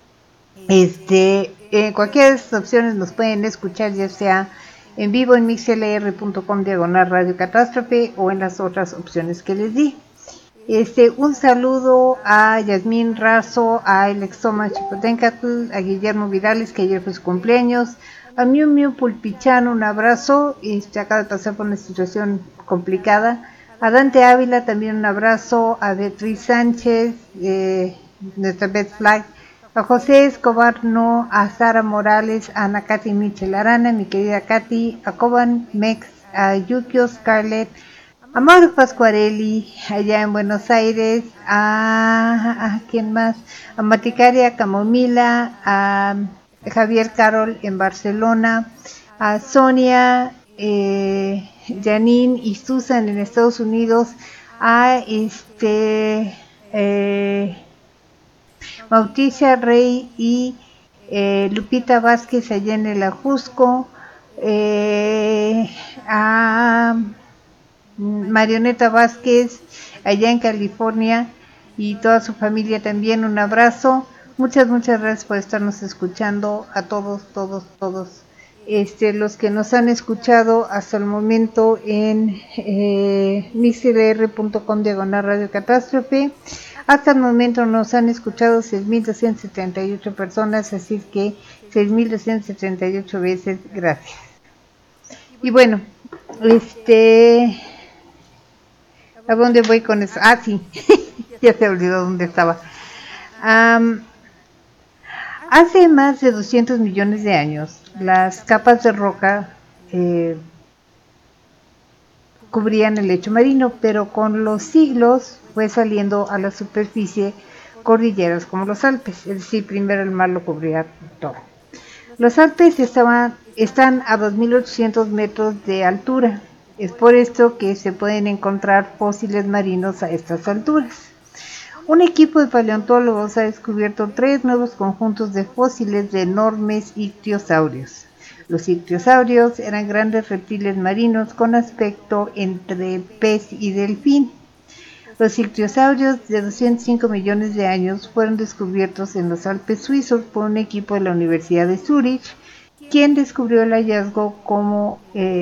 Cualquiera de estas opciones nos pueden escuchar, ya sea en vivo en mixlr.com /Radio Catástrofe o en las otras opciones que les di. Un saludo a Yasmín Razo, a Alexoma Chipotencatl, a Guillermo Vidales, que ayer fue su cumpleaños, a Miu Miu Pulpichano, un abrazo, acaba de pasar por una situación complicada, a Dante Ávila también un abrazo, a Beatriz Sánchez, nuestra Beth Flag, a José Escobar, no, a Sara Morales, a Ana Katy Michel Arana, mi querida Katy, a Coban Mex, a Yukio Scarlett, a Mauro Pascuarelli, allá en Buenos Aires, a ¿quién más? A Maticaria Camomila, a Javier Carol en Barcelona, a Sonia, Janine y Susan en Estados Unidos, a Mauricia Rey y Lupita Vázquez allá en el Ajusco, a Marioneta Vázquez allá en California y toda su familia también, un abrazo. Muchas gracias por estarnos escuchando, a todos los que nos han escuchado hasta el momento en mixlr.com /Radio Catástrofe. Hasta el momento nos han escuchado 6.278 personas, así que 6.278 veces gracias. Y bueno, ¿a dónde voy con eso? Ah, sí, ya se olvidó dónde estaba. Hace más de 200 millones de años, las capas de roca cubrían el lecho marino, pero con los siglos fue saliendo a la superficie cordilleras como los Alpes, es decir, primero el mar lo cubría todo. Los Alpes están a 2.800 metros de altura, es por esto que se pueden encontrar fósiles marinos a estas alturas. Un equipo de paleontólogos ha descubierto 3 nuevos conjuntos de fósiles de enormes ictiosaurios. Los ictiosaurios eran grandes reptiles marinos con aspecto entre pez y delfín. Los ictiosaurios de 205 millones de años fueron descubiertos en los Alpes suizos por un equipo de la Universidad de Zúrich, quien describió el hallazgo como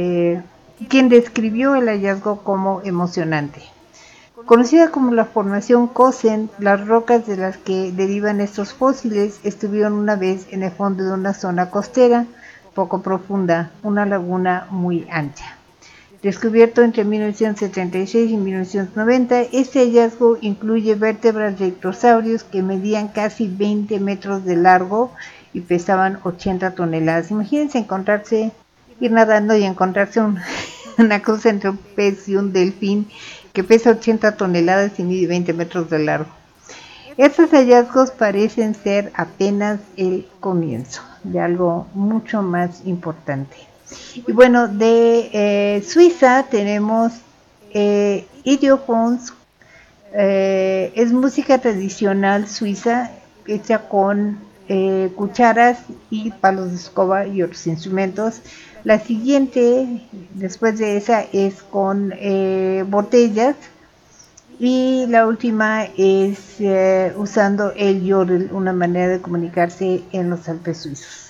emocionante. Conocida como la formación Cosen, las rocas de las que derivan estos fósiles estuvieron una vez en el fondo de una zona costera poco profunda, una laguna muy ancha. Descubierto entre 1976 y 1990, este hallazgo incluye vértebras de ictiosaurios que medían casi 20 metros de largo y pesaban 80 toneladas. Imagínense ir nadando y encontrarse una cosa entre un pez y un delfín que pesa 80 toneladas y mide 20 metros de largo. Estos hallazgos parecen ser apenas el comienzo de algo mucho más importante. Y bueno, de Suiza tenemos Idiophones, es música tradicional suiza hecha con cucharas y palos de escoba y otros instrumentos. La siguiente, después de esa, es con botellas. Y la última es usando el yodel, una manera de comunicarse en los Alpes suizos.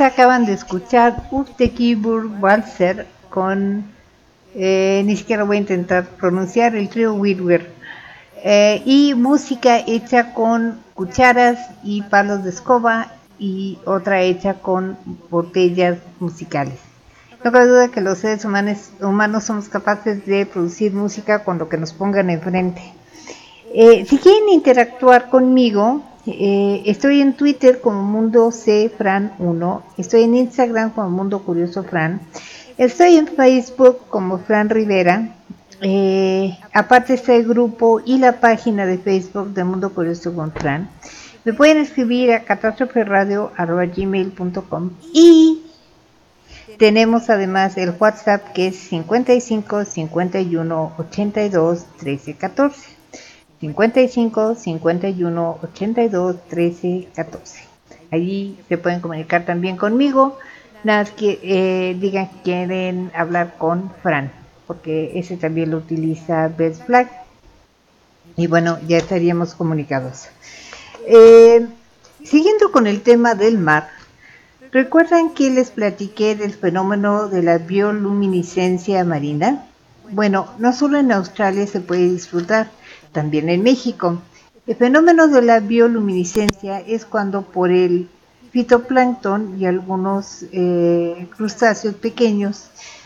acaban de escuchar Uftekibur Walzer con, ni siquiera voy a intentar pronunciar, el trío Whitwer, y música hecha con cucharas y palos de escoba y otra hecha con botellas musicales. No cabe duda que los seres humanos somos capaces de producir música con lo que nos pongan enfrente. Si quieren interactuar conmigo, estoy en Twitter como Mundo C Fran 1, estoy en Instagram como Mundo Curioso Fran, estoy en Facebook como Fran Rivera, aparte está el grupo y la página de Facebook de Mundo Curioso con Fran. Me pueden escribir a catastroferadio@gmail.com y tenemos además el WhatsApp que es 55 51 82 13 14. 55 51 82 13 14. Allí se pueden comunicar también conmigo. Nada más que digan que quieren hablar con Fran, porque ese también lo utiliza Best Flag. Y bueno, ya estaríamos comunicados. Siguiendo con el tema del mar, ¿recuerdan que les platiqué del fenómeno de la bioluminiscencia marina? Bueno, no solo en Australia se puede disfrutar, también en México. El fenómeno de la bioluminiscencia es cuando por el fitoplancton y algunos crustáceos pequeños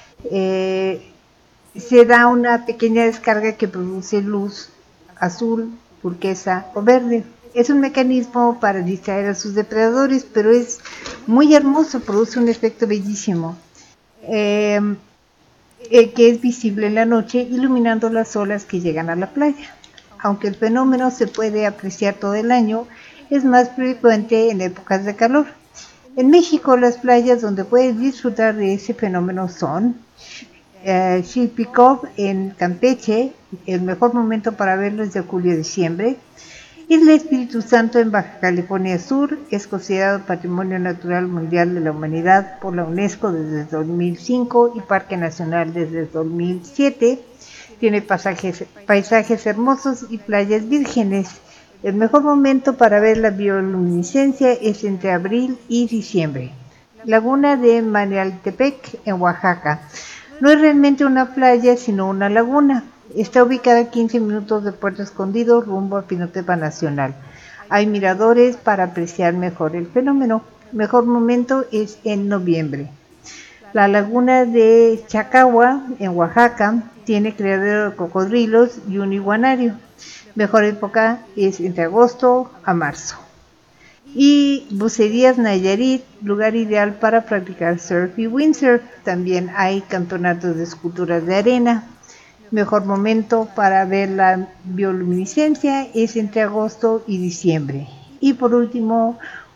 se da una pequeña descarga que produce luz azul, turquesa o verde. Es un mecanismo para distraer a sus depredadores, pero es muy hermoso, produce un efecto bellísimo, que es visible en la noche, iluminando las olas que llegan a la playa. Aunque el fenómeno se puede apreciar todo el año, es más frecuente en épocas de calor. En México, las playas donde puedes disfrutar de ese fenómeno son Chilpicov en Campeche, el mejor momento para verlo es de julio a diciembre. Isla Espíritu Santo en Baja California Sur es considerado Patrimonio Natural Mundial de la Humanidad por la UNESCO desde 2005 y Parque Nacional desde 2007. Tiene paisajes hermosos y playas vírgenes. El mejor momento para ver la bioluminiscencia es entre abril y diciembre. Laguna de Manialtepec en Oaxaca. No es realmente una playa, sino una laguna. Está ubicada a 15 minutos de Puerto Escondido, rumbo a Pinotepa Nacional. Hay miradores para apreciar mejor el fenómeno. Mejor momento es en noviembre. La laguna de Chacagua, en Oaxaca, tiene criadero de cocodrilos y un iguanario. Mejor época es entre agosto a marzo. Y Bucerías Nayarit, lugar ideal para practicar surf y windsurf. También hay campeonatos de esculturas de arena. Mejor momento para ver la bioluminiscencia es entre agosto y diciembre. Y por último,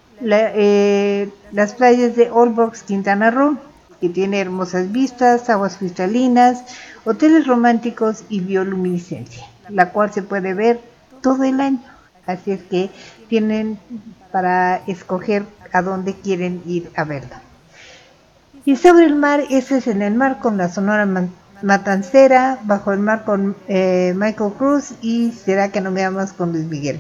las playas de Old Box, Quintana Roo, que tiene hermosas vistas, aguas cristalinas, hoteles románticos y bioluminiscencia, la cual se puede ver todo el año. Así es que tienen para escoger a dónde quieren ir a verla. Y sobre el mar, ese es en el mar con la Sonora Matancera, Bajo el Mar con Michael Cruz y Será que no me amas con Luis Miguel.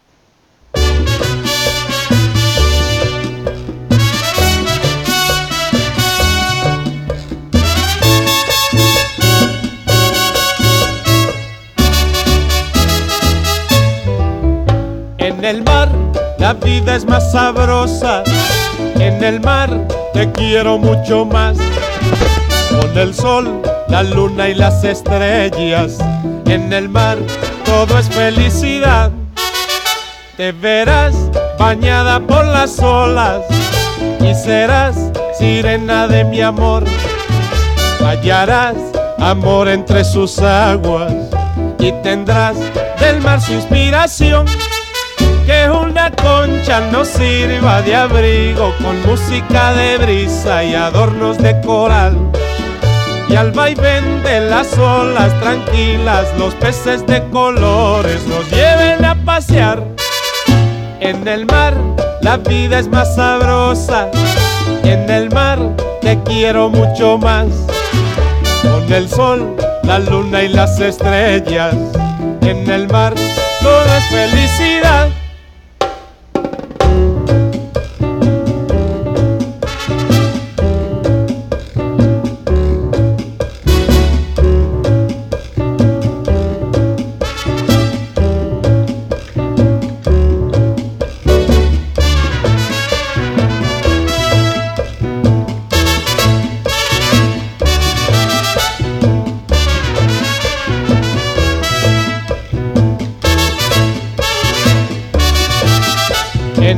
En el mar la vida es más sabrosa, en el mar te quiero mucho más. Con el sol, la luna y las estrellas, en el mar todo es felicidad. Te verás bañada por las olas y serás sirena de mi amor. Hallarás amor entre sus aguas y tendrás del mar su inspiración. Que una concha nos sirva de abrigo con música de brisa y adornos de coral. Y al vaivén de las olas tranquilas los peces de colores nos lleven a pasear. En el mar la vida es más sabrosa, en el mar te quiero mucho más. Con el sol, la luna y las estrellas, en el mar todo es felicidad.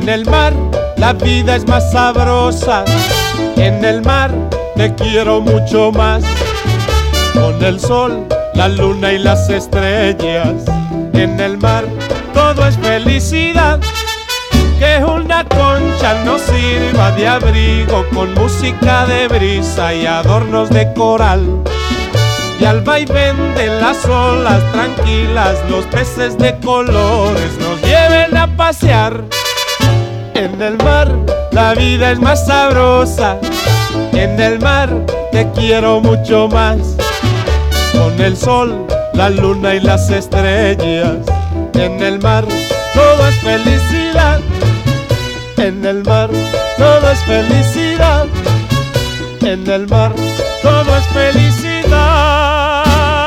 En el mar la vida es más sabrosa, en el mar te quiero mucho más. Con el sol, la luna y las estrellas, en el mar todo es felicidad. Que una concha nos sirva de abrigo con música de brisa y adornos de coral. Y al vaivén de las olas tranquilas los peces de colores nos lleven a pasear. En el mar la vida es más sabrosa, en el mar te quiero mucho más. Con el sol, la luna y las estrellas, en el mar todo es felicidad. En el mar todo es felicidad, en el mar todo es felicidad.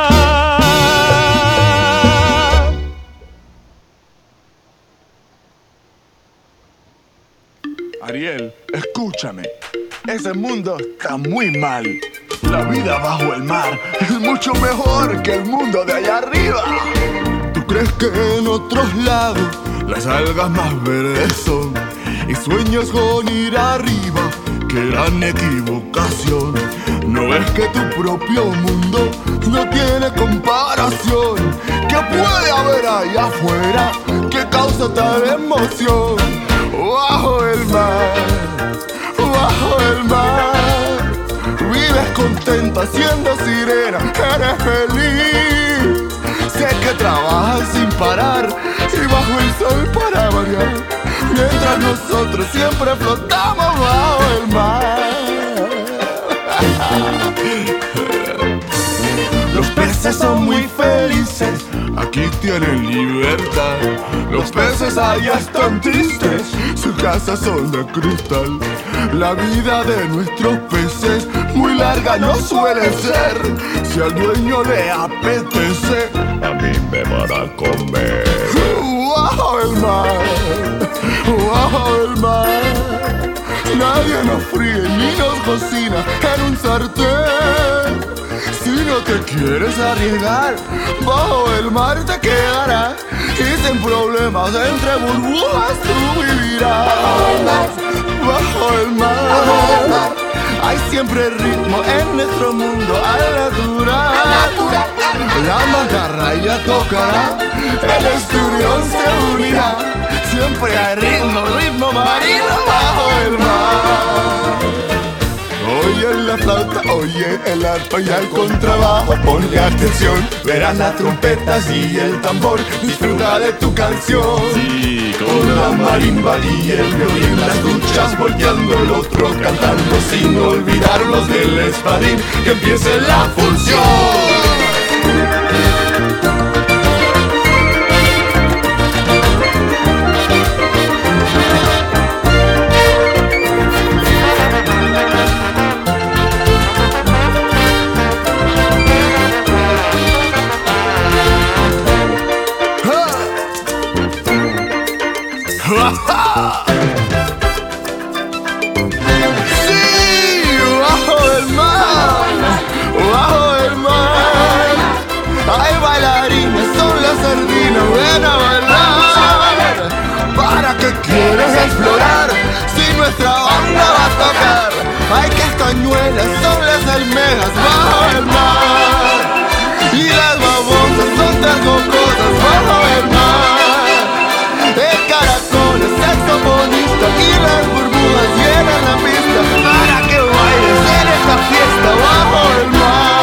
Ariel, escúchame. Ese mundo está muy mal. La vida bajo el mar es mucho mejor que el mundo de allá arriba. ¿Tú crees que en otros lados las algas más verdes son? Y sueñas con ir arriba, qué gran equivocación. ¿No ves que tu propio mundo no tiene comparación? ¿Qué puede haber allá afuera que causa tal emoción? Bajo el mar, bajo el mar, vives contenta siendo sirena, eres feliz. Sé que trabajas sin parar y bajo el sol para variar, mientras nosotros siempre flotamos bajo el mar. Los peces son muy felices, aquí tienen libertad. Los peces allá están tristes, sus casas son de cristal. La vida de nuestros peces muy larga no suele ser. Si al dueño le apetece, a mí me van a comer. Bajo el mar, bajo el mar, nadie nos fríe ni nos cocina en un sartén. Si no te quieres arriesgar, bajo el mar te quedarás y sin problemas entre burbujas tú vivirás. Bajo el mar, hay siempre ritmo en nuestro mundo al natural. La mantarraya tocará, el esturión se unirá. Siempre hay ritmo, ritmo marino bajo el mar. Oye la flauta, oye el arpa y el contrabajo, ponle atención, verás las trompetas y el tambor, disfruta de tu canción. Sí, con la marimba y el violín, las duchas volteando, el otro cantando, sin olvidarnos del espadín, que empiece la función. Sí, bajo el mar, bajo el mar, hay bailarines, son las sardinas, ven a bailar. ¿Para qué quieres explorar si nuestra banda va a tocar? Hay castañuelas, son las almejas bajo el mar, y las babosas son tan cocosas bajo el mar. El caracol es saxofonista y las burbujas llenan la pista para que bailes en esta fiesta bajo el mar.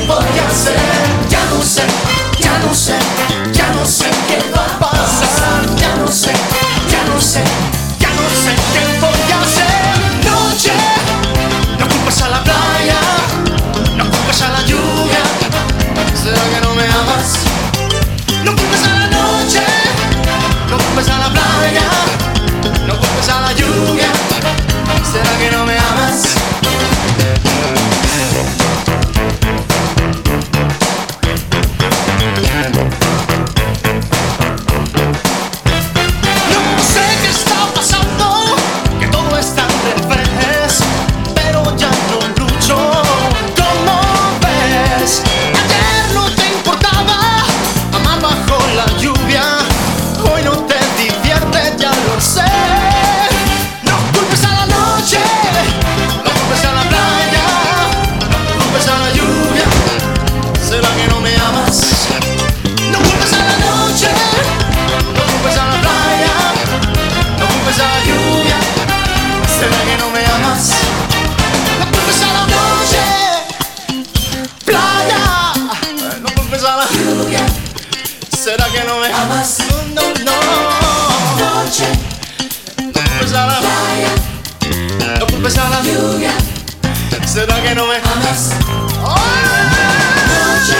voy a hacer. Ya no sé, ya no sé, ya no sé qué va a pasar. Ya no sé, ya no sé, ya no sé qué voy a hacer. Noche, no culpes a la playa, no culpes a la lluvia. ¿Será que no me amas? No culpes a la noche, no culpes a la playa, no culpes a la lluvia. ¿Será que no me amas? No sé qué está pasando, que todo está al revés, pero ya no lucho. ¿Cómo ves? Ayer no te importaba amar bajo la lluvia, hoy no te divierte, ya lo sé. No culpes a la noche, no culpes a la playa, no culpes a la lluvia. ¿Será que no me amas? No culpes a la noche, no culpes a la playa, no culpes a la lluvia. ¿Será que no me amas? No culpes a la noche, playa, no culpes a la lluvia. ¿Será que no me amas? No, no, no. Noche, no culpes a la playa, no culpes a la lluvia. ¿Será que no me amas? Noche,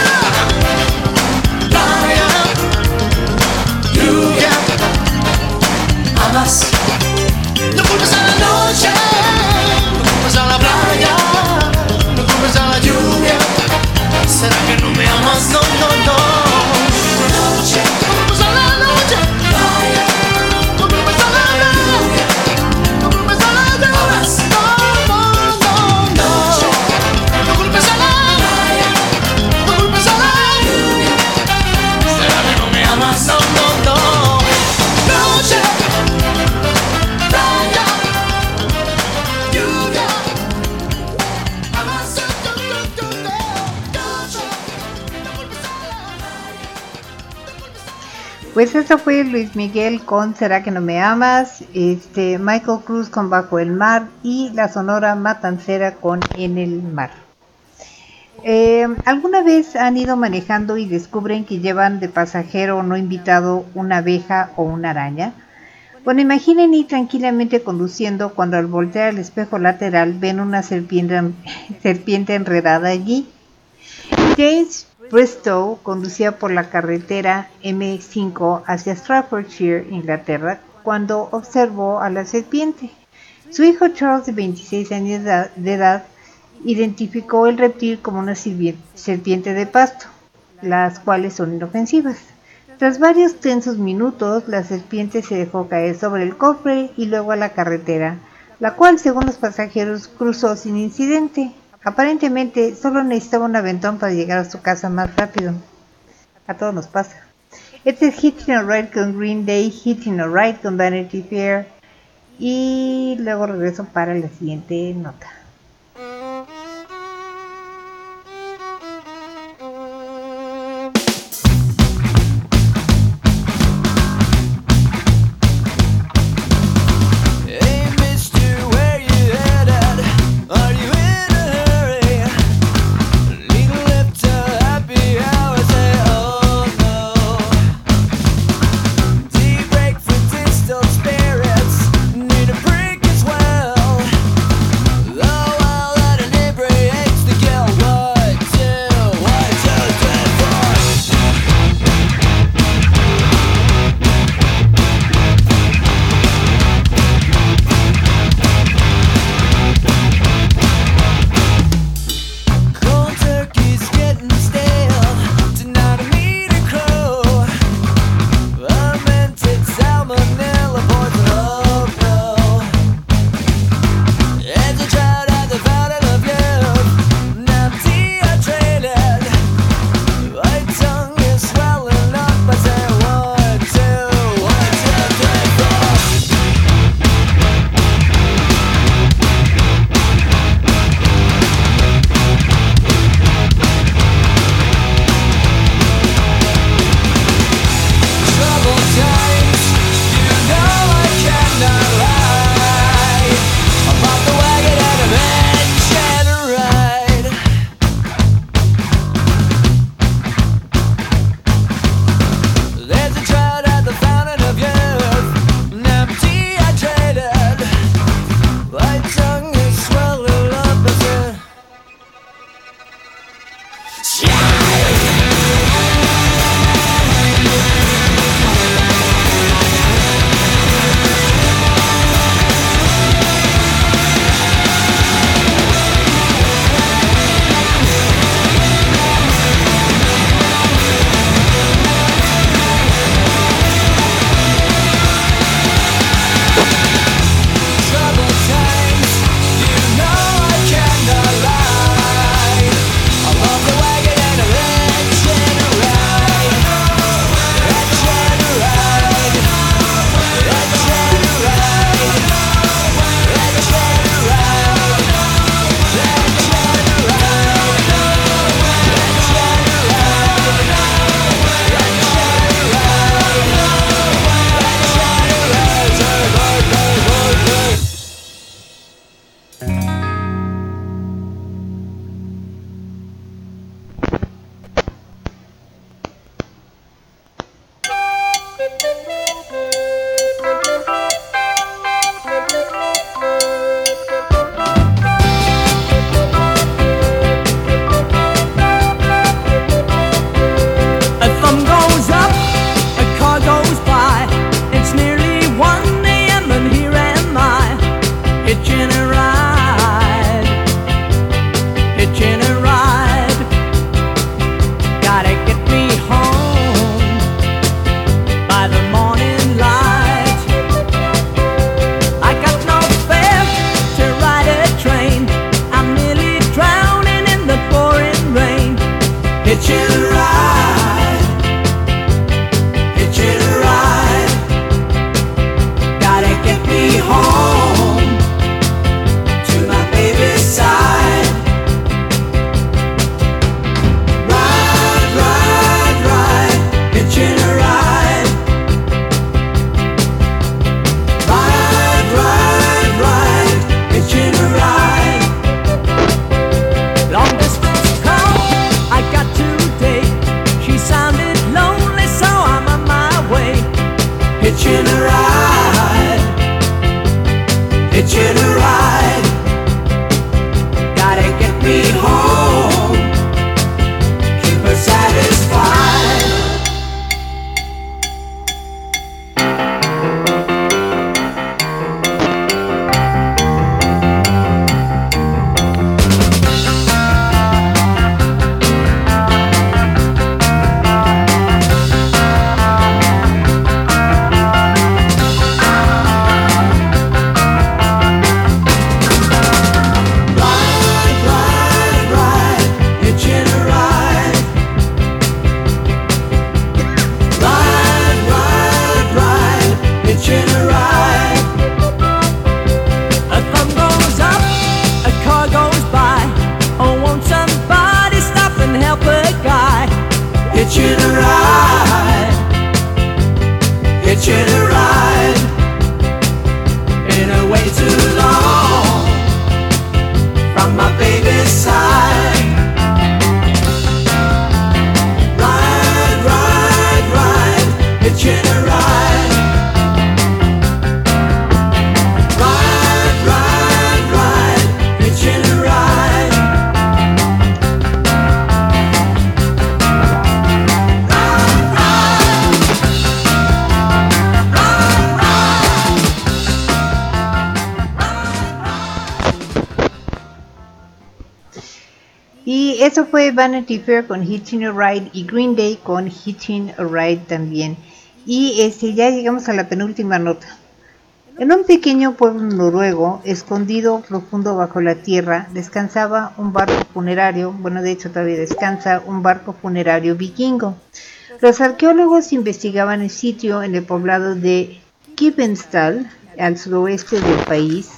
playa, lluvia. ¿Amas? No culpes a la noche, no culpes a la playa, no culpes a la lluvia. ¿Será que no me amas? No, no, no. Noche, no culpes a la noche, playa, no culpes a la lluvia, no culpes a la lluvia. No, no, no, no. No culpes a la playa, no culpes a la lluvia. ¿Será que no me amas? No, no, no. Noche, playa, lluvia. Amas, Pues eso fue Luis Miguel con ¿Será que no me amas? Michael Cruz con Bajo el mar y la Sonora Matancera con En el mar. ¿Alguna vez han ido manejando y descubren que llevan de pasajero no invitado una abeja o una araña? Bueno, imaginen ir tranquilamente conduciendo cuando al voltear el espejo lateral ven una serpiente enredada allí. James Bristow conducía por la carretera M5 hacia Staffordshire, Inglaterra, cuando observó a la serpiente. Su hijo Charles, de 26 años de edad, identificó el reptil como una serpiente de pasto, las cuales son inofensivas. Tras varios tensos minutos, la serpiente se dejó caer sobre el cofre y luego a la carretera, la cual, según los pasajeros, cruzó sin incidente. Aparentemente solo necesitaba un aventón para llegar a su casa más rápido. A todos nos pasa. Este es Hitting a Ride con Green Day, Hitting a Ride con Vanity Fair. Y luego regreso para la siguiente nota. Spirits need a break as well. hitching a ride, hitching a ride. Gotta get me home to my baby's side. Ride, ride, ride, hitching a ride. Ride, ride, ride, hitching a ride. Long distance call I got today. She sounded lonely, so I'm on my way. Hitching a ride, hitching a ride. Gotta get me home, keep her satisfied. Ride, ride, ride, hitching a ride. Ride, ride, ride, hitching a ride. A thumb goes up, a car goes by. Oh, won't somebody stop and help a guy? Hitching a ride, hitching a ride. In a way too long from my baby's side. Ride, ride, ride, hitching a ride. Ride, ride, ride, hitching a ride. Y eso fue Vanity Fair con Hitching a Ride y Green Day con Hitching a Ride también. Y ya llegamos a la penúltima nota. En un pequeño pueblo noruego, escondido profundo bajo la tierra, descansaba un barco funerario, bueno, de hecho todavía descansa, un barco funerario vikingo. Los arqueólogos investigaban el sitio en el poblado de Kvinesdal, al suroeste del país,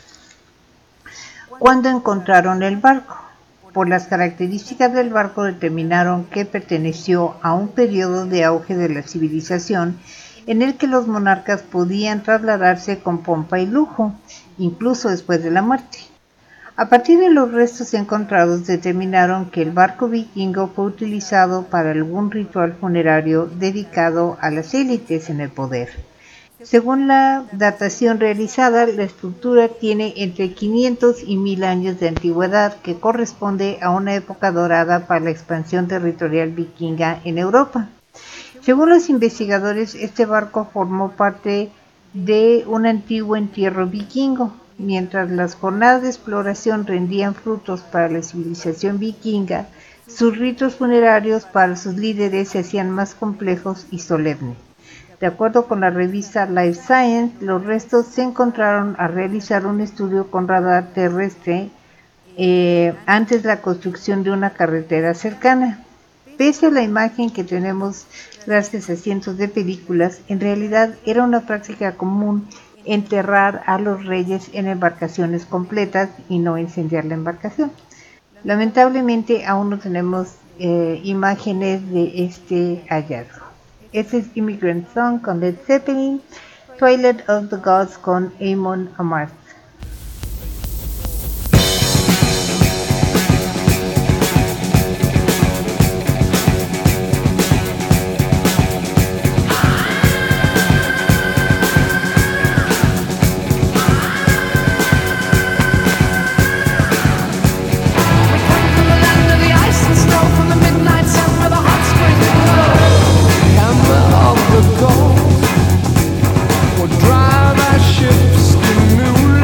cuando encontraron el barco. Por las características del barco determinaron que perteneció a un periodo de auge de la civilización en el que los monarcas podían trasladarse con pompa y lujo, incluso después de la muerte. A partir de los restos encontrados determinaron que el barco vikingo fue utilizado para algún ritual funerario dedicado a las élites en el poder. Según la datación realizada, la estructura tiene entre 500 y 1000 años de antigüedad, que corresponde a una época dorada para la expansión territorial vikinga en Europa. Según los investigadores, este barco formó parte de un antiguo entierro vikingo. Mientras las jornadas de exploración rendían frutos para la civilización vikinga, sus ritos funerarios para sus líderes se hacían más complejos y solemnes. De acuerdo con la revista Life Science, los restos se encontraron al realizar un estudio con radar terrestre antes de la construcción de una carretera cercana. Pese a la imagen que tenemos gracias a cientos de películas, en realidad era una práctica común enterrar a los reyes en embarcaciones completas y no incendiar la embarcación. Lamentablemente aún no tenemos imágenes de este hallazgo. Este es Immigrant Song con Led Zeppelin, Twilight of the Gods con Amon Amarth. We'll drive our ships in new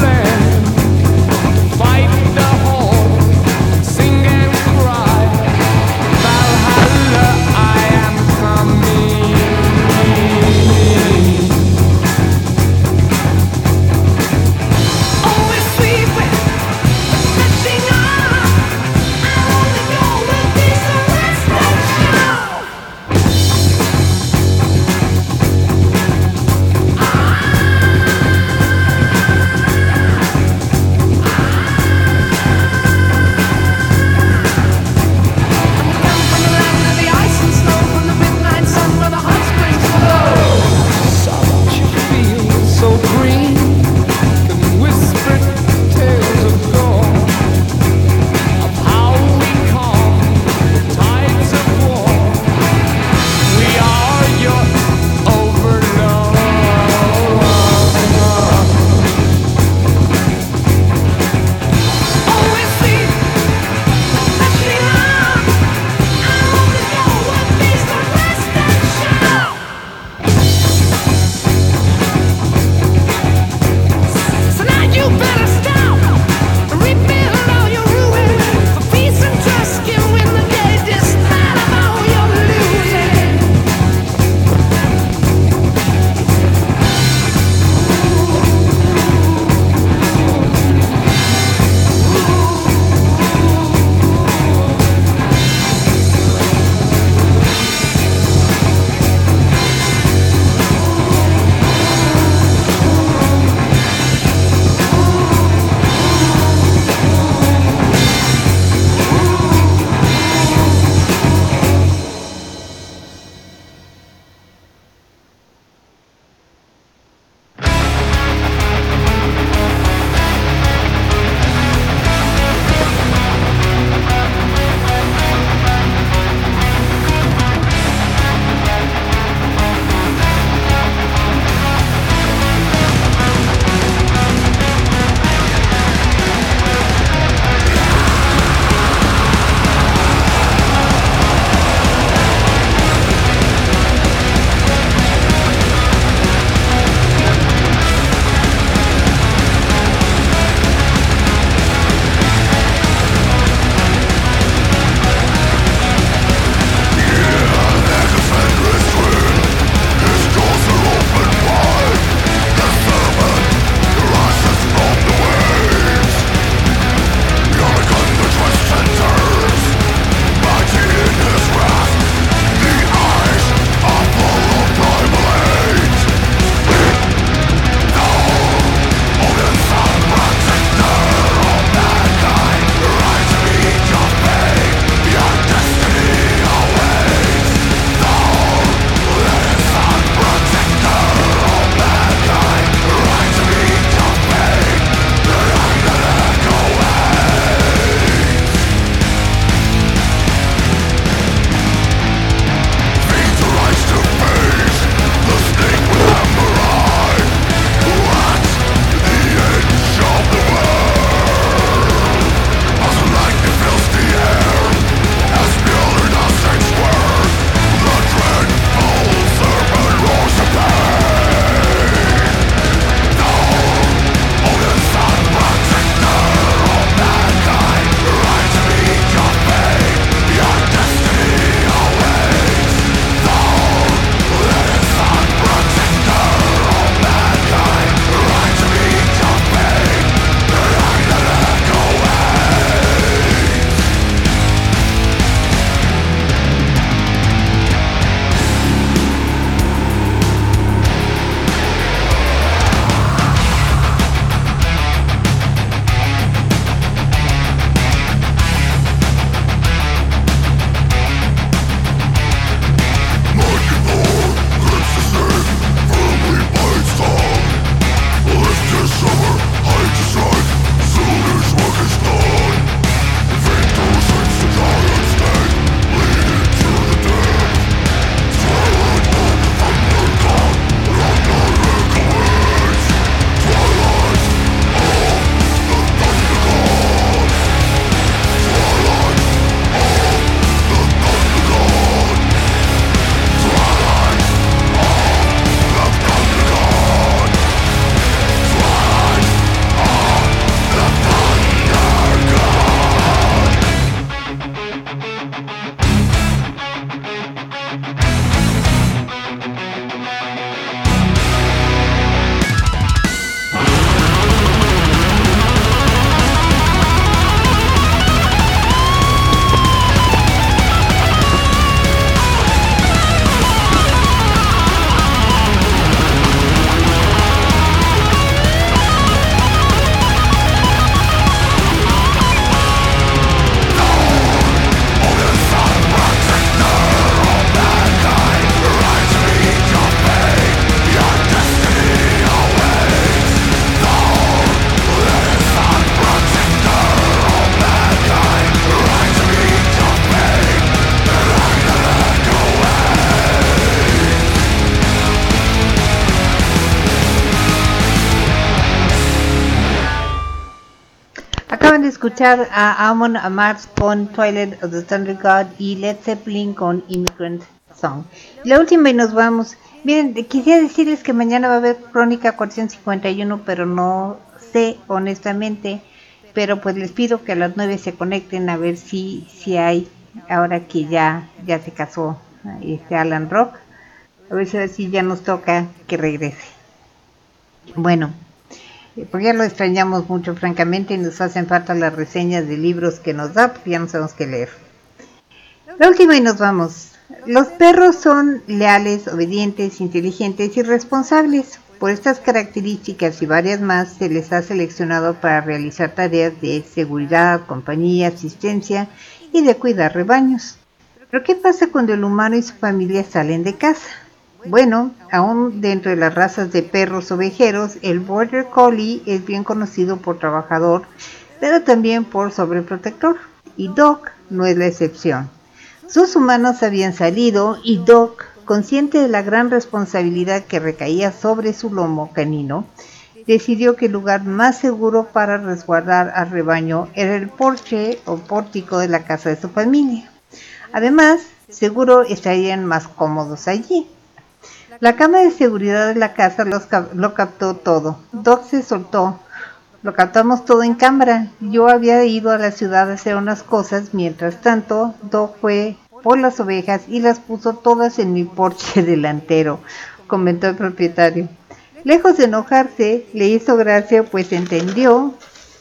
escuchar a Amon Amarth con Twilight of the Thunder God y Led Zeppelin con Immigrant Song. La última y nos vamos. Miren, quisiera decirles que mañana va a haber Crónica 451, pero no sé honestamente. Pero pues les pido que a las 9 se conecten a ver si hay, ahora que ya se casó Alan Rock. A ver si ya nos toca que regrese. Bueno, porque ya lo extrañamos mucho, francamente, y nos hacen falta las reseñas de libros que nos da, porque ya no sabemos qué leer. La última y nos vamos. Los perros son leales, obedientes, inteligentes y responsables. Por estas características y varias más, se les ha seleccionado para realizar tareas de seguridad, compañía, asistencia y de cuidar rebaños. ¿Pero qué pasa cuando el humano y su familia salen de casa? Bueno, aún dentro de las razas de perros ovejeros, el Border Collie es bien conocido por trabajador, pero también por sobreprotector, y Doc no es la excepción. Sus humanos habían salido y Doc, consciente de la gran responsabilidad que recaía sobre su lomo canino, decidió que el lugar más seguro para resguardar al rebaño era el porche o pórtico de la casa de su familia. Además, seguro estarían más cómodos allí. La cámara de seguridad de la casa lo captó todo. Doc se soltó. Lo captamos todo en cámara. Yo había ido a la ciudad a hacer unas cosas. Mientras tanto, Doc fue por las ovejas y las puso todas en mi porche delantero, comentó el propietario. Lejos de enojarse, le hizo gracia, pues entendió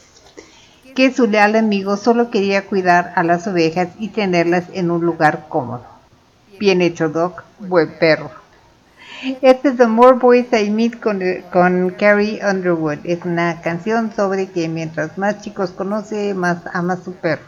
que su leal amigo solo quería cuidar a las ovejas y tenerlas en un lugar cómodo. Bien hecho, Doc. Buen perro. Este es The More Boys I Meet con Carrie Underwood. Es una canción sobre que mientras más chicos conoce, más ama a su perro.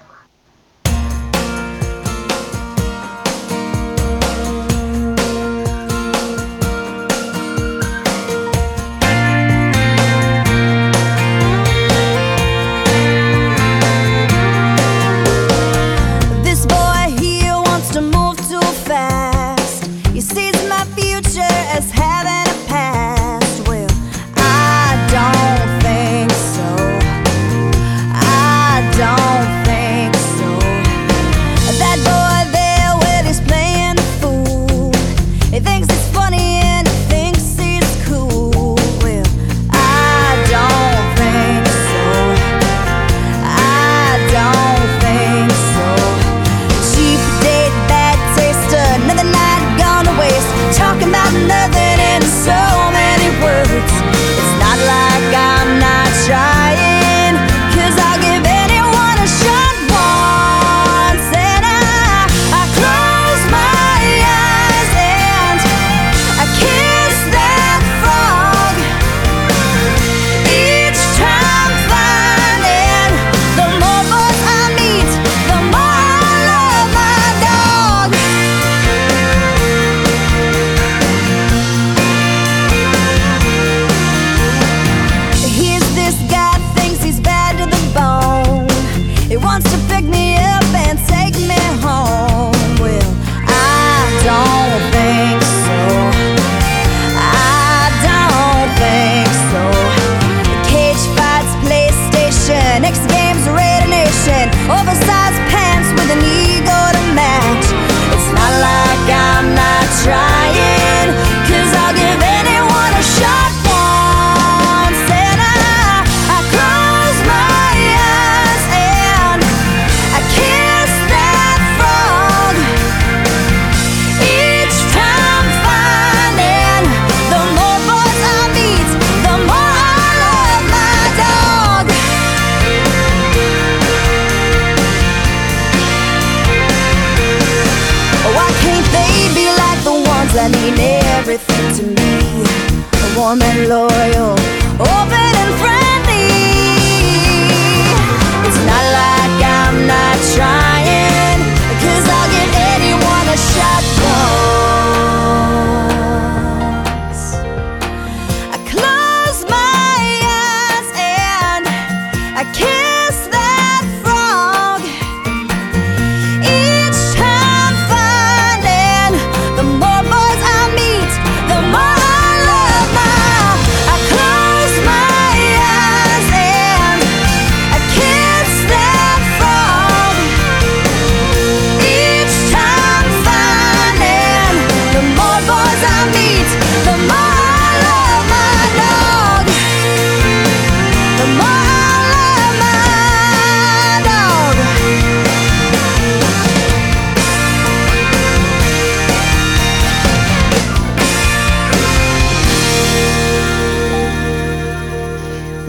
That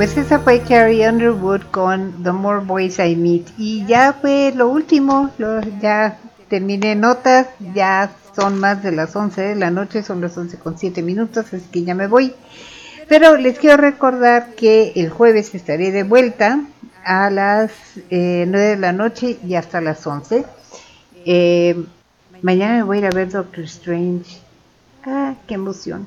Pues esa fue Carrie Underwood con The More Boys I Meet. Y ya fue lo último, ya terminé notas, ya son más de las 11 de la noche, son las 11:07, así que ya me voy. Pero les quiero recordar que el jueves estaré de vuelta a las 9 de la noche y hasta las 11. Mañana me voy a ir a ver Doctor Strange. ¡Ah, qué emoción!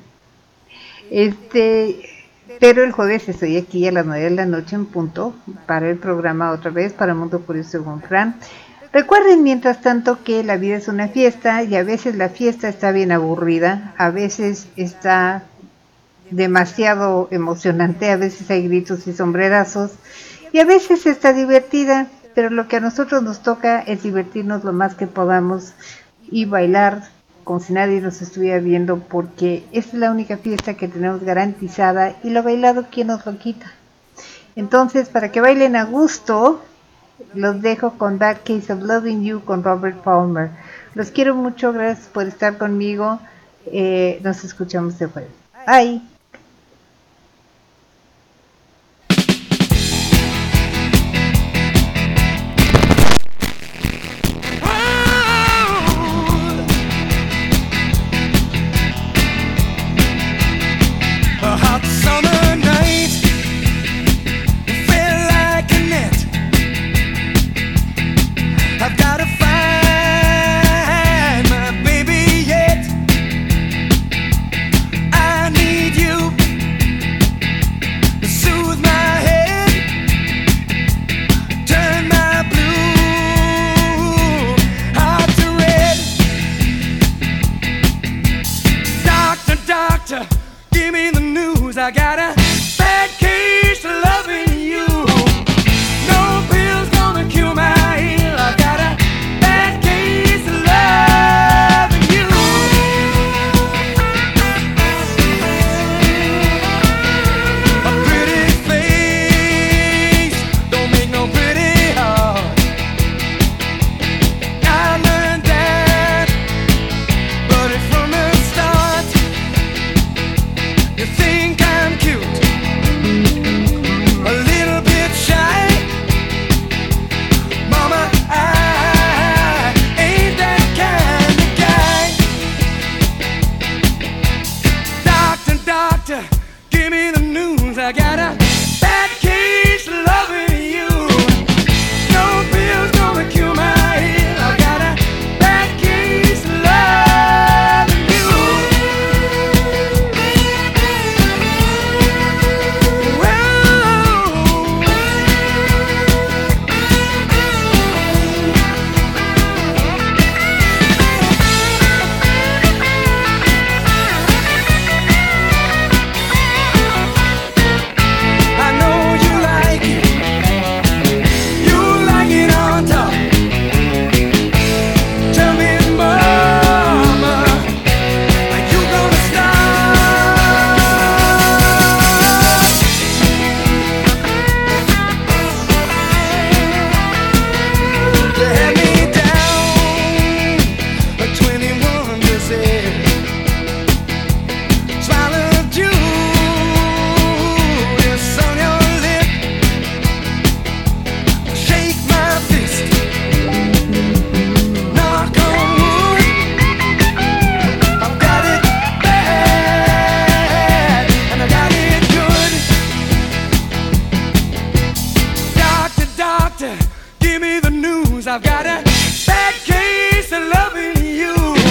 Pero el jueves estoy aquí a las 9 de la noche en punto para el programa otra vez para Mundo Curioso con Fran. Recuerden mientras tanto que la vida es una fiesta y a veces la fiesta está bien aburrida, a veces está demasiado emocionante, a veces hay gritos y sombrerazos y a veces está divertida, pero lo que a nosotros nos toca es divertirnos lo más que podamos y bailar como si nadie nos estuviera viendo, porque esta es la única fiesta que tenemos garantizada y lo bailado, ¿quién nos lo quita? Entonces, para que bailen a gusto, los dejo con That Case of Loving You con Robert Palmer. Los quiero mucho, gracias por estar conmigo. Nos escuchamos de jueves. Bye. I got a bad case of loving you. No pill's gonna cure my ill. I got a bad case of loving you. A pretty face don't make no pretty heart. I learned that, but it's from the start. You think I'm cute, a little bit shy. Mama, I ain't that kind of guy. Doctor, doctor, give me the news. I got a bad case of loving you. No pill's gonna cure my ill. I got a bad case of loving you. I know you like it. You like it on top. Tell me, mama, are you gonna stop? You had me down a 21%. Swallowed Judas on your lip. Shake my fist. Knock on wood. I've got it bad and I got it good. Doctor, doctor, give me the news. I've got a bad case of loving you.